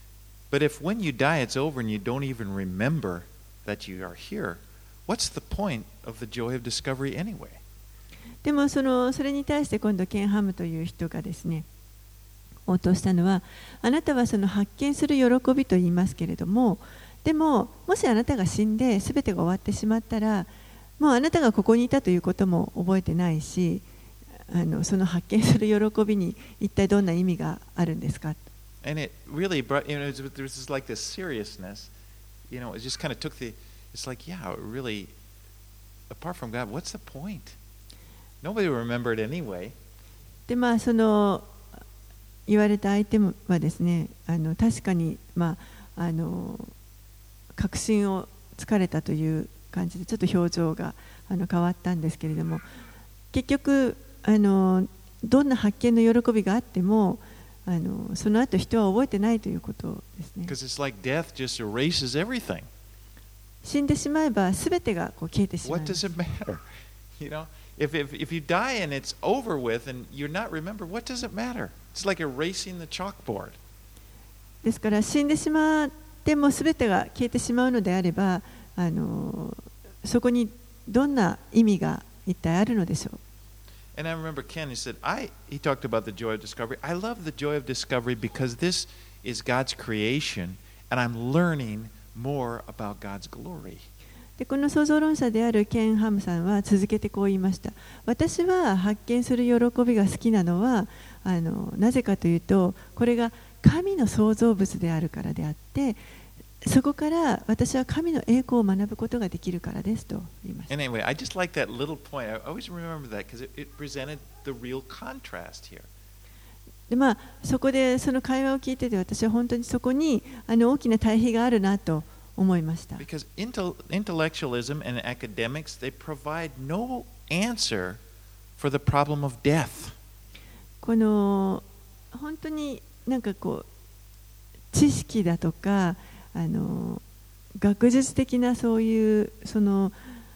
but if when you die it's over and you don't even remember that you are here, what's the point of the joy of discovery anyway?" でもそのそれに対して今度ケンハムという人がですね、応答したのは、あなたはその発見する喜びと言いますけれども、でももしあなたが死んで全てが終わってしまったら、もうあなたがここにいたということも覚えてないし、あのその発見する喜びに一体どんな意味があるんですか。 And it really brought, you know, there was like this seriousness, you know, it just kind of took the, it's like, yeah, really, apart from God, what's the point? Nobody will remember it anyway. でまあその言われた相手はですね、あの確かにまああの確信をつかれたという感じでちょっと表情があの変わったんですけれども、結局あのどんな発見の喜びがあってもあのその後人は覚えてないということですね。 Because it's like death just erases everything. 死んでしまえばすべてがこう消えてしまう。 What does it matter? You know, if if if you die and it's over with and you're not remembered, what does it matter? It's like erasing the chalkboard. ですから死んでしまってもすべてが消えてしまうのであれば、あのそこにどんな意味が一体あるのでしょう。 And I remember Ken, he said, I, he talked about the joy of discovery. I love the joy of discovery because this is God's creation and I'm learning more about God's glory. でこの創造論者であるケン・ハムさんは続けてこう言いました。私は発見する喜びが好きなのはあのなぜかというと、これが神の創造物であるからであって、そこから私は神の栄光を学ぶことができるからですと言いました。 And anyway, I just like that little point. I always remember that because it, it presented the real contrast here. でまあ、そこでその会話を聞いてて、私は本当にそこにあの大きな対比があるなと思いました。 Because intellectualism and academics, they provide no answer for the problem of death. この本当になんかこう知識だとかあの学術的なそういうその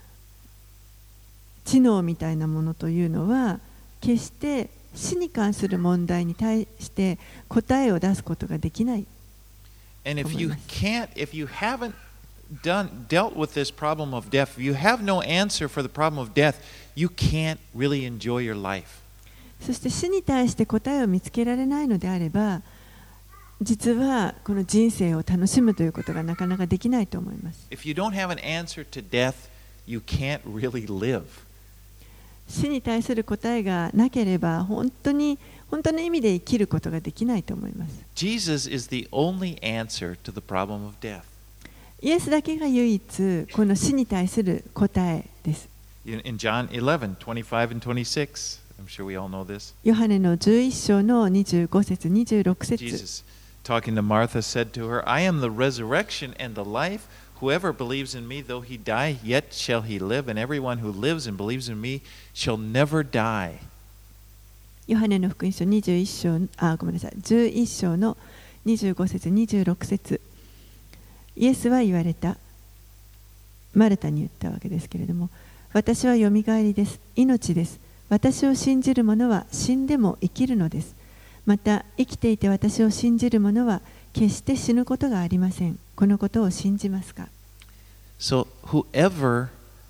知能みたいなものというのは決して死に関する問題に対して答えを出すことができない。 And if you can't, if you haven't done dealt with this problem of death, if you have no answer for the problem of death, you can't really enjoy your life. そして死に対して答えを見つけられないのであれば、実はこの人生を楽しむということがなかなかできないと思います。 If you don't have an answer to death, you can't really live. 死に対する答えがなければ本当に本当の意味で生きることができないと思います。 Jesus is the only answer to the problem of death. イエスだけが唯一この死に対する答えです。 In, in John eleven, twenty-five and twenty-six, I'm sure we all know this. ヨハネのじゅういっ章のにじゅうご節、にじゅうろく節。 Jesus, talking to Martha, said to her, I am the resurrection and the life. Whoever believes in me, though he die, yet shall he live, and everyone who lives and believes in me shall never die. ヨハネの福音書にじゅういっ章、あ、ごめんなさい、じゅういっ章のにじゅうご節、にじゅうろく節。イエスは言われた。マルタに言ったわけですけれども、私はよみがえりです。命です。私を信じる者は死んでも生きるのです。また生きていて私を信じる者は決して死ぬことがありません。このことを信じますか？ So whoever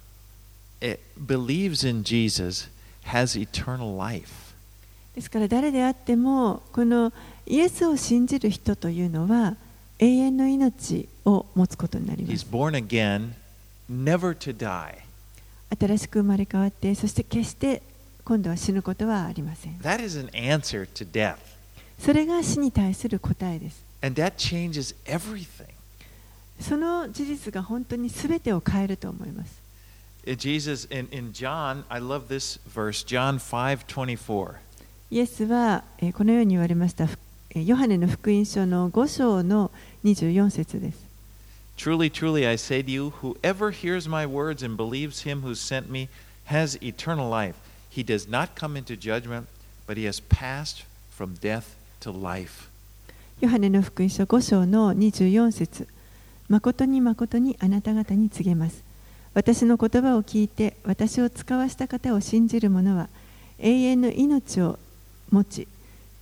believes in Jesus has eternal life. ですから誰であってもこのイエスを信じる人というのは永遠の命を持つことになります。 He's born again, never to die. 新しく生まれ変わってそして決して今度は死ぬことはありません。 That is an answer to death. それが死に対する答えです。 And that changes everything. その事実が本当に全てを変えると思います。 Jesus, in, in John, I love this verse, John five twenty-four. イエスはこのように言われました。ヨハネの福音書のご章のにじゅうよん節です。 Truly, truly, I say to you, whoever hears my words and believes him who sent me has eternal life. He does not come into judgment, but he has passed from death to life. ヨハネの福音書ご章のにじゅうよん節。誠に誠にあなた方に告げます。私の言葉を聞いて私を使わした方を信じる者は永遠の命を持ち、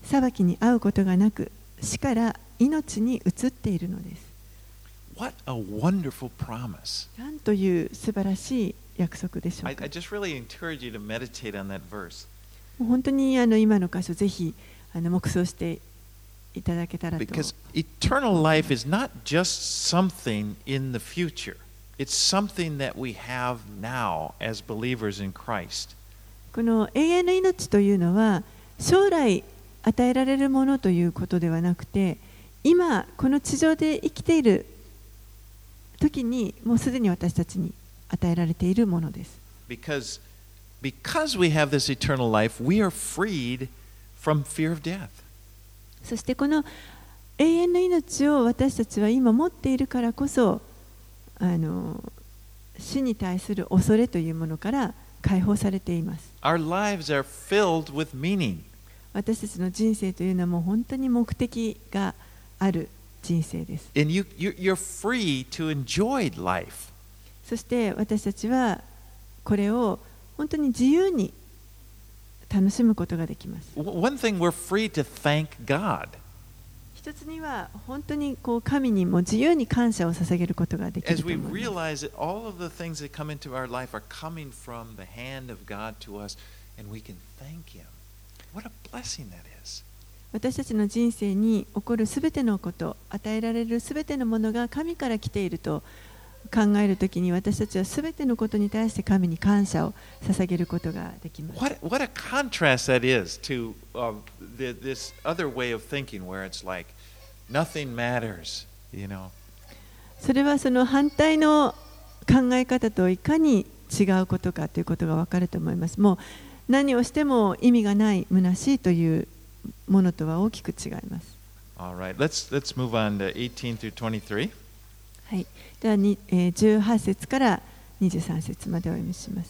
裁きに遭うことがなく、死から命に移っているのです。 What a wonderful promise. なんという素晴らしい約束でしょう I, か。 I just really encourage you to meditate on that verse. もう本当にあの今の箇所、ぜひあの黙想していただけたらと。 Because eternal life is not just something in the future. It's something that we have now as believers in Christ. この永遠の命というのは将来与えられるものということではなくて、今この地上で生きている時にもうすでに私たちに与えられているものです。 Because, because we have this eternal life, we are freed from fear of death. そしてこの永遠の命を私たちは今持っているからこそ、あの死に対する恐れというものから解放されています。 Our lives are filled with meaning. 私たちの人生というのはもう本当に目的がある人生です。 And you, you, you're free to enjoy life. そして私たちはこれを本当に自由に楽しむことができます。 One thing, we're free to thank God. 一つには本当にこう神にも自由に感謝を捧げることができる As と we 思います。 realize that all of the things that come into our life are coming from the hand of God to us, and we can thank Him. What a blessing that is. 私たちの人生に起こるすべてのこと、与えられるすべてのものが神から来ていると考えるときに、私たちはすべてのことに対して神に感謝を捧げることができます。 What, what a contrast that is to uh, the, this other way of thinking where it's like nothing matters, you know. それはその反対の考え方といかに違うことかということがわかると思います。もう何をしても意味がない虚しいというものとは大きく違います。 All right, let's, let's move on to eighteen through twenty-three. はい、ではに、えー、じゅうはち節からにじゅうさん節までお読みします。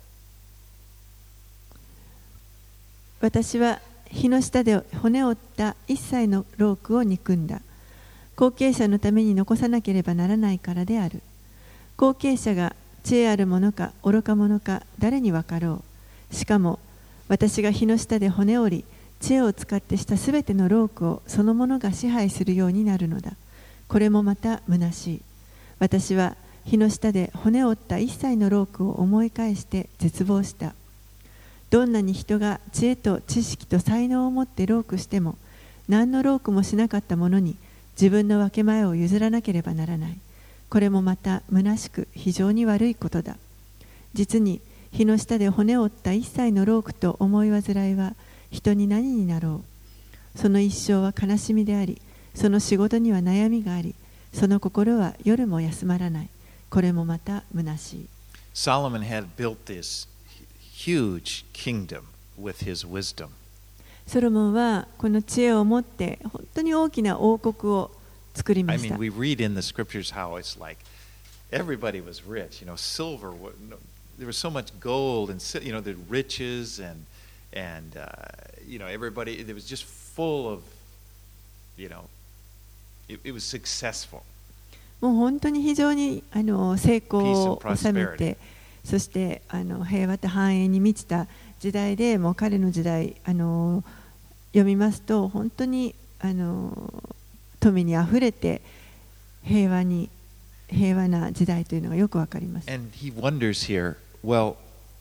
私は火の下で骨を折った一切のロークを憎んだ。後継者のために残さなければならないからである。後継者が知恵あるものか愚か者か誰に分かろう。しかも私が火の下で骨を折り、知恵を使ってしたすべてのロークをそのものが支配するようになるのだ。これもまた虚しい。私は火の下で骨を折った一切のロークを思い返して絶望した。どんなに人が知恵と知識と才能を持ってロークしても、何のロークもしなかったものに自分の分け前を譲らなければならない。これもまた虚しく非常に悪いことだ。実に火の下で骨を折った一切のロークと思い煩いは人に何になろう。その一生は悲しみであり、その仕事には悩みがあり、その心は夜も休まらない。これもまた虚しい。 Solomon had built this huge kingdom with his wisdom. ソロモンはこの知恵を持って本当に大きな王国を作りま I した。 mean, we read in the scriptures how it's like everybody was rich. You know, silver, wa- no- there was so much gold and si- you know the riches and and uh, you know everybody. It was just full of, you know, it, it was successful. もう本当に非常にあの成功 Peace を and 収め prosperity. て、そしてあの平和と繁栄に満ちた時代で、もう彼の時代あの読みますと本当にあの富にあふれて平和に平和な時代というのがよくわかります。 And he wonders here. Well,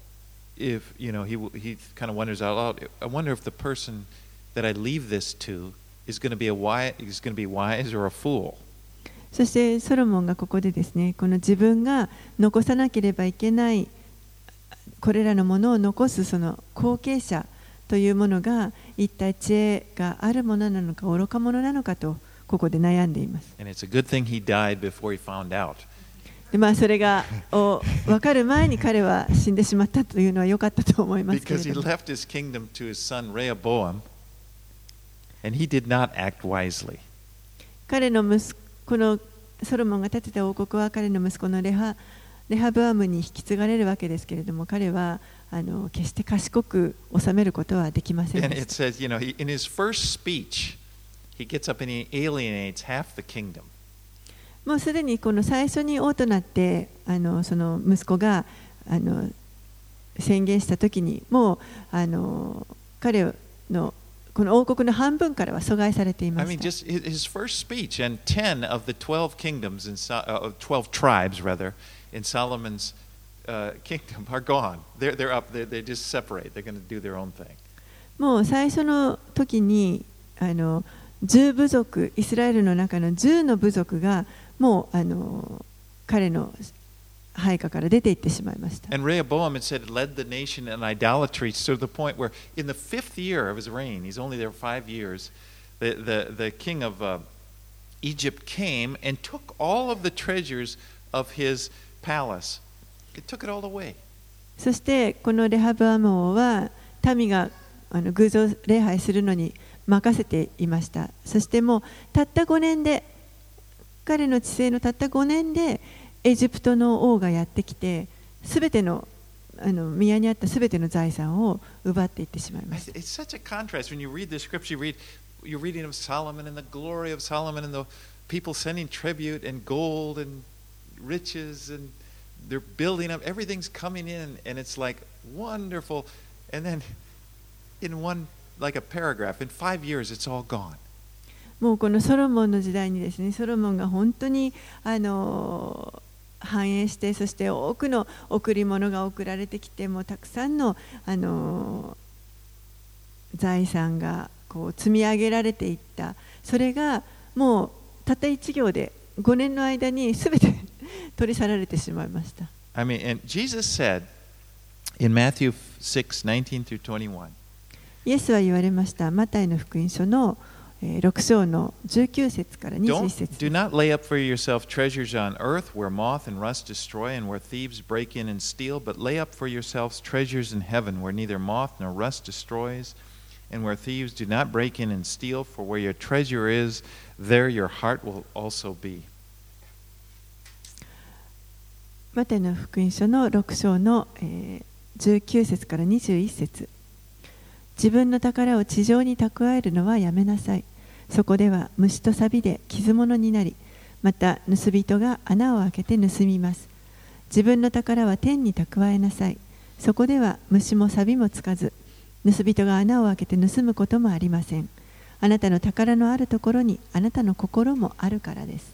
if you know, he he kind of wonders out loud. I wonder if the person that I leave this to is going to be a wise, is going to be wise or a fool. そしてソロモンがここでですね、この自分が残さなければいけないこれらのものを残すその後継者というものが一体知恵があるものなのか愚か者なのかとここで悩んでいます。 And it's a good thing he died before he found out. でまあ、それがを分かる前に彼は死んでしまったというのは良かったと思いますけれ Because he ども、 left his kingdom to his son Rehoboam, and he did not act wisely. 彼の息子このソロモンが建てた王国は彼の息子のレハレハブアムに引き継がれるわけですけれども、彼はあの決して賢く治めることはできません And で it した。 says, you know, he, in his first speech, he gets up and he alienates half the kingdom. もうすでにこの最初に王となってあのその息子があの宣言したときにもうあの彼のこの王国の半分からは阻害されていま I し mean, た。 just his his first speech, and ten of the twelve kingdoms in So- uh, of twelve tribes, rather, in Solomon's uh, kingdom are gone. They're they're up. They they just separate. They're going to do their own thing. もう最初の時にあのじゅう部族、イスラエルの中のじゅうの部族がもうあの彼の配下から出て行ってしまいました。 And Rehoboam, it said, led the nation in idolatry to the point where, in the fifth year of his reign, he's only there five years, the the the king of uh, Egypt came and took all of the treasures of his palace. It took it all away. そしてこのレハブアム王は民があの偶像礼拝するのに任せていました。そしてもうたったごねんで、彼の治世のたったごねんでエジプトの王がやってきて、すべてのあの宮にあったすべての財産を奪っていってしまいました。 It's such a contrast when you read the scripture. You read, you're reading of Solomon and the glory of Solomon and the people sending tribute and gold and riches and they're building up. Everything's coming in and it's like wonderful. And then in one, like a paragraph, in five years, it's all gone. もうこのソロモンの時代にですね、ソロモンが本当にあの繁栄して、そして多くの贈り物が贈られてきて、もうたくさんのあの財産がこう積み上げられていった。それがもうたった一行でごねんの間にすべて取り去られてしまいました。 I mean, and Jesus said in Matthew six, nineteen through twenty-one. イエスは言われました。マタイの福音書のろく章のじゅうきゅう節からにじゅういち節。 Do not lay up for yourself treasures on earth where moth and rust destroy and where thieves break in and steal, but lay up for yourselves treasures in heaven where neither moth nor rust destroys and where thieves do not break in and steal, for where your treasure is, there your heart will also be. マタイの福音書のろく章のじゅうきゅう節からにじゅういち節。自分の宝を地上に蓄えるのはやめなさい。そこでは虫と錆で傷物になり、また盗人が穴を開けて盗みます。自分の宝は天に蓄えなさい。そこでは虫も錆もつかず、盗人が穴を開けて盗むこともありません。あなたの宝のあるところにあなたの心もあるからです。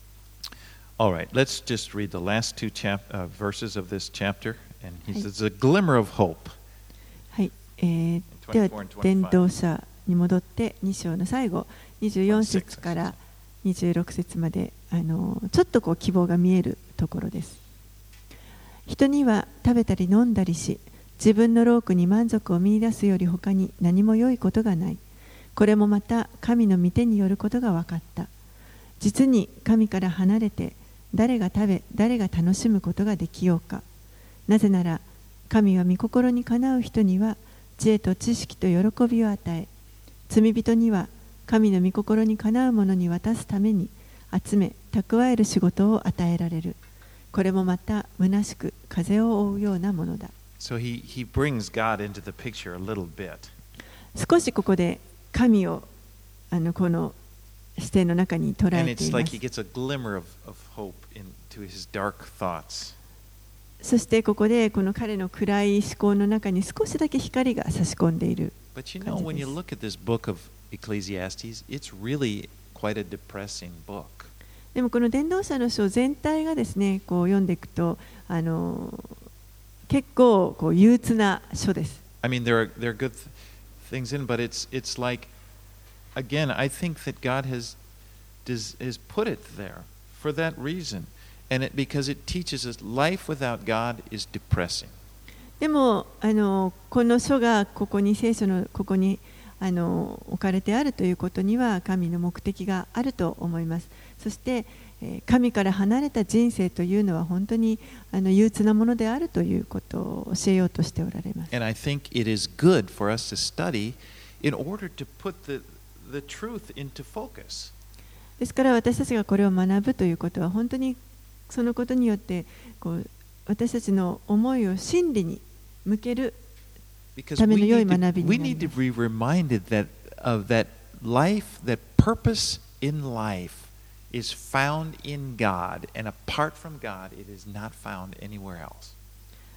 All right, let's just read the last two chap- uh, verses of this chapter. And he says, a glimmer of hope. はい、えー、では伝道者に戻ってに章の最後にじゅうよん節からにじゅうろく節まであのちょっとこう希望が見えるところです。人には食べたり飲んだりし、自分の労苦に満足を見出すより他に何も良いことがない。これもまた神の御手によることが分かった。実に神から離れて誰が食べ誰が楽しむことができようか。なぜなら神は御心にかなう人には知恵と知識と喜びを与え、罪人には神の御心にかなうものに渡すために集め蓄える仕事を与えられる。これもまた虚しく風を追うようなものだ。 So he, he brings God into the picture a little bit. 少しここで神をあのこの視点の中に捉 And えてい it's ま like す。 he gets a glimmer of, of hope into his dark thoughts. そしてここでこの彼の暗い思考の中に少しだけ光が差し込んでいる But you 感 know, じ when で you す。 look at this book of Ecclesiastes, it's really quite a depressing book. でもこの伝道者の書全体がですね、こう読んでいくとあの結構こう憂鬱な書です。 I mean, there are there are good th- things in, but it's it's like, again, I think that God has does, has put it there for that reason, and it because it teaches us life without God is depressing. でもあのこの書がここに聖書のここにあの置かれてあるということには神の目的があると思います。そしてえー神から離れた人生というのは本当にあの憂鬱なものであるということを教えようとしておられます。 And I think it is good for us to study in order to put the the truth into focus. ですから私たちがこれを学ぶということは本当にそのことによってこう私たちの思いを真理に向ける Because ため we の良い need 学 to, び we にな need り to ます。 be reminded that of that life, that purpose in life is found in God, and apart from God, it is not found anywhere else.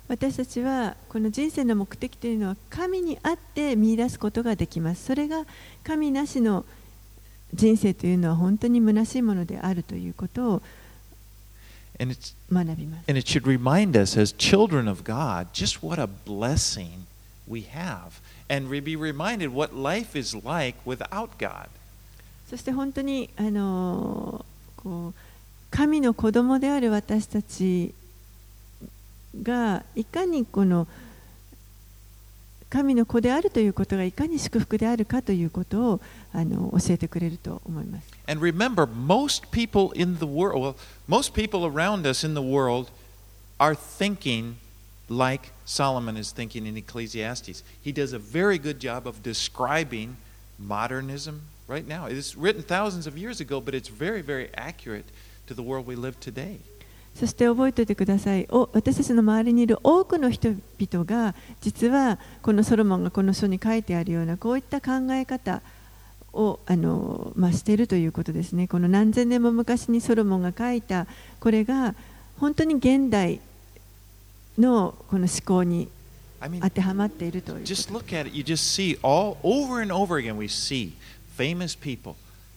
私たちはこの人生の目的というのは神にあって見出すことができます。それが神なしの人生というのは本当に虚しいものであるということを学びます。 And it should remind us as children of God just what a blessing we have, and be reminded what life is like without God. そして本当にあのこう神の子供である私たちがいかにこの神の子であるということがいかに祝福であるかということをあの教えてくれると思います。 And remember, most people in the world, well, most people around us in the world are thinking like Solomon is thinking in Ecclesiastes. He does a very good job of describing modernism right now. It's written thousands of years ago, but it's very, very accurate to the world we live today. そして覚えておいてください。お私たちの周りにいる多くの人々が実はこのソロモンがこの書に書いてあるようなこういった考え方をあの、まあ、しているということですね。この何千年も昔にソロモンが書いたこれが本当に現代のこの思考に当てはまっているということ。 Just look at it. You just see all over and over again. We see famous people.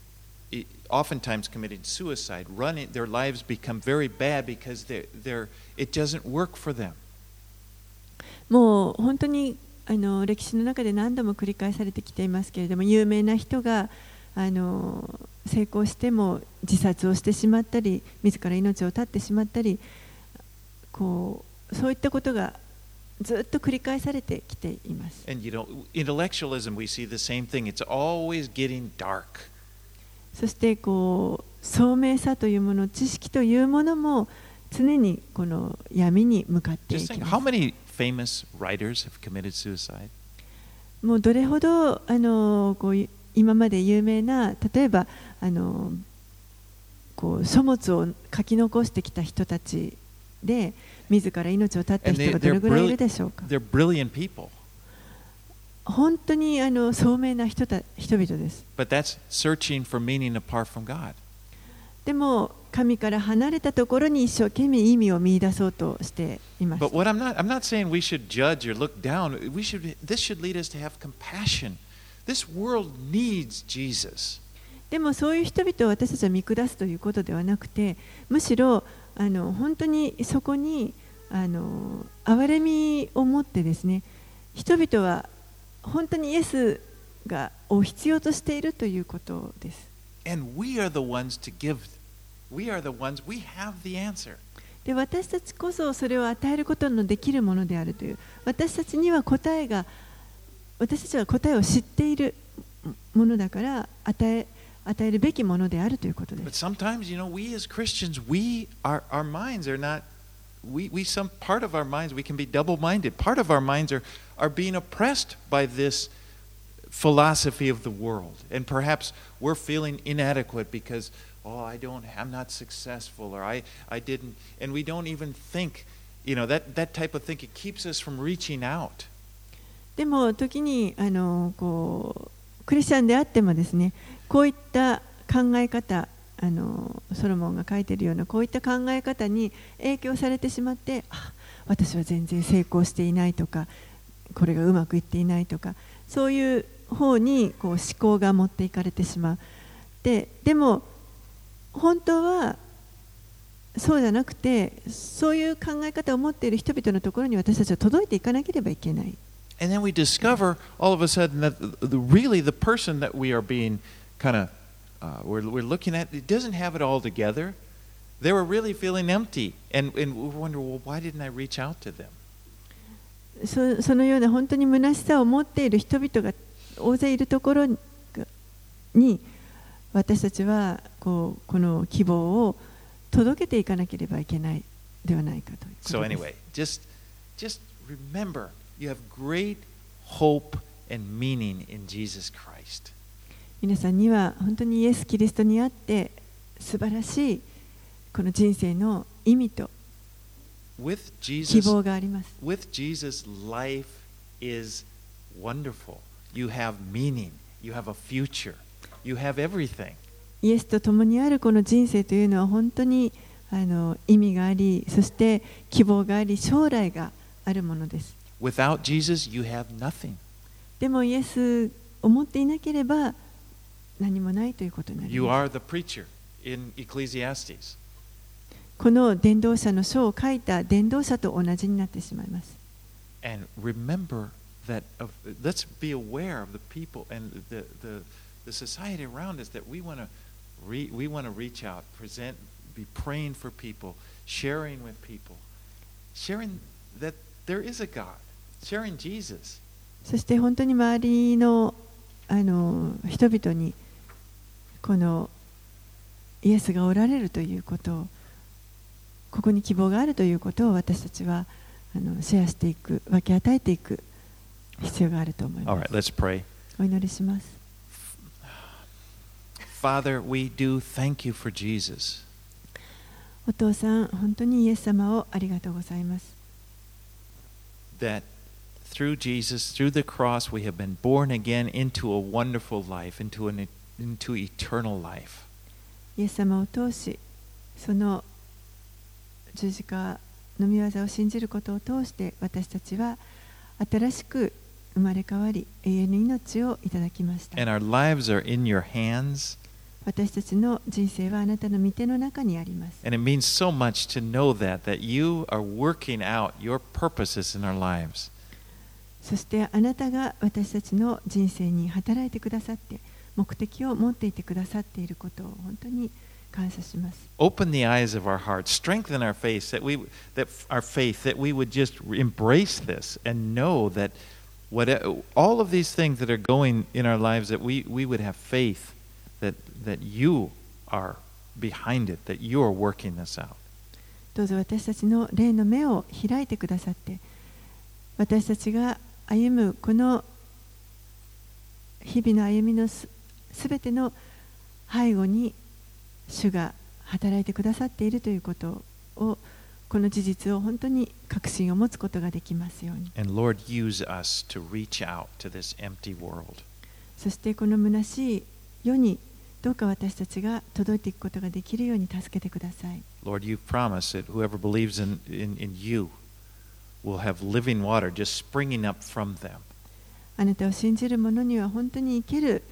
Oftentimes committing suicide, running, their lives become very bad because they're, they're, it doesn't work for them. もう本当にあの歴史の中で何度も繰り返されてきていますけれども、有名な人があの成功しても自殺をしてしまったり、自ら命を絶ってしまったり、こうそういったことがずっと繰り返されてきています。 And you know, intellectualism, we see the same thing. It's always getting dark. そしてこう聡明さというもの、知識というものも常にこの闇に向かっていきます。 How many famous writers have committed suicide? もうどれほどあのこう今まで有名な、例えばあのこう書物を書き残してきた人たちで自ら命を絶った人がどれぐらいいるでしょうか。 They're brilliant people. 本当にあの聡明な人た人々です。 But that's searching for meaning apart from God. でも神から離れたところに一生懸命意味を見出そうとしています。 But what I'm not, I'm not saying we should judge or look down. We should, this should lead us to have compassion. This world needs Jesus. でもそういう人々を私たちは見下すということではなくて、むしろあの本当にそこにあの憐れみを持ってですね、人々は本当にイエスがを必要としているということです。 And we are the ones to give. We are the ones. We have the answer. で、私たちこそそれを与えることのできるものであるという。私たちには答えが、私たちは答えを知っているものだから与え与えるべきものであるということです。 But sometimes, you know, we as Christians, we our our minds are not. We we some part of our minds we can be double-minded. Part of our minds are are being oppressed by this philosophy of the world, and perhaps we're feeling inadequate because oh I don't I'm not successful or I I didn't, and we don't even think, you know, that that type of thinking keeps us from reaching out. でも時にあのこうクリスチャンであってもですね、こういった考え方、あのソロモンが書いているようなこういった考え方に影響されてしまって、あ、私は全然成功していないとか、これがうまくいっていないとか、そういう方にこう思考が持っていかれてしまう。で、でも本当はそうじゃなくて、そういう考え方を持っている人々のところに私たちは届いていかなければいけない。 And then we discover all of a sudden that the, the, really the person that we are being kind of uh, we're, we're looking at, it doesn't have it all together. They were really feeling empty, and, and we wonder, well, why didn't I reach out to them? そ, そのような本当に虚しさを持っている人々が大勢いるところに私たちはこうこの希望を届けていかなければいけないではないかということです。 So anyway, just, just remember, you have great hope and meaning in Jesus Christ. 皆さんには本当にイエス・キリストにあって素晴らしいこの人生の意味と希望があります。 With Jesus, life is wonderful. You have meaning. You have a future. You have everything. イエスと共にあるこの人生というのは本当にあの意味があり、そして希望があり、将来がああるものです。 Without Jesus, you have nothing. でもイエスを持っていなければ何もないということになります。 You are the preacher in Ecclesiastes. この伝道者の書を書いた伝道者と同じになってしまいます。 And remember that of, let's be aware of the people and the, the, the society around us that we want to re, we want to reach out, present, be praying for people, sharing with people, sharing that there is a God, sharing Jesus. そして本当に周りのあの人々にこのイエスがおられるということを、ここに希望があるということを私たちはあのシェアしていく、分け与えていく必要があると思います。 All right, let's pray. お祈りします。 Father, we do thank you for Jesus. お父さん、本当にイエス様をありがとうございます。 That through Jesus, through the cross, we have been born again into a wonderful life, into an into eternal life. イエス様を通し、その十字架の御業を信じることを通して私たちは新しく生まれ変わり永遠の命をいただきました。 And our lives are in your hands. 私たちの人生はあなたの御手の中にあります。 And it means so much to know that, that you are working out your purposes in our lives. そしてあなたが私たちの人生に働いてくださって目的を持っていてくださっていることを本当に感謝します。 Open the eyes of our hearts, strengthen our faith, that we that our faith that we would just embrace this and know that what all of these things that are going in our lives, that we we would have faith that that you are behind it, that you are working this out. どうぞ私たちの霊の目を開いてくださって、私たちが歩むこの日々の歩みのすべての背後に主が働いてくださっているということを、この事実を本当に確信を持つことができますように。 And Lord, use us to reach out to this empty world. そしてこの虚しい世にどうか私たちが届いていくことができるように助けてください。 Lord, you've promised that whoever believes in, in, in you will have living water just springing up from them. あなたを信じる者には本当に生ける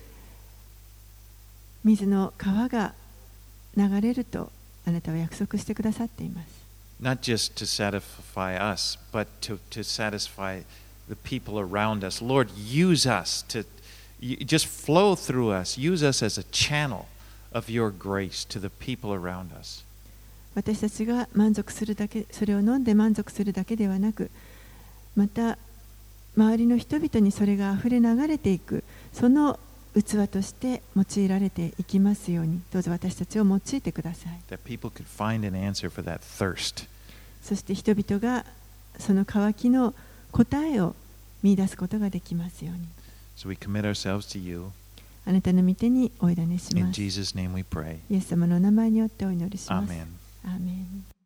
水の川が流れるとあなたは約束してくださっています。 Not just to satisfy us, but to, to satisfy the people around us. Lord, use us to just flow through us. Use us as a channel of your grace to the people around us. 私たちが満足するだけ、それを飲んで満足するだけではなく、また周りの人々にそれがあふれ流れていく、その器として用いられていきますように、どうぞ私たちを用いてください。 That people could find an answer for that thirst. そして人々がその渇きの答えを見出すことができますように。 So we commit ourselves to you. あなたの御手にお委ねし In ます。 Jesus' name we pray. イエス様の名前によってお祈りします。 Amen. アーメン。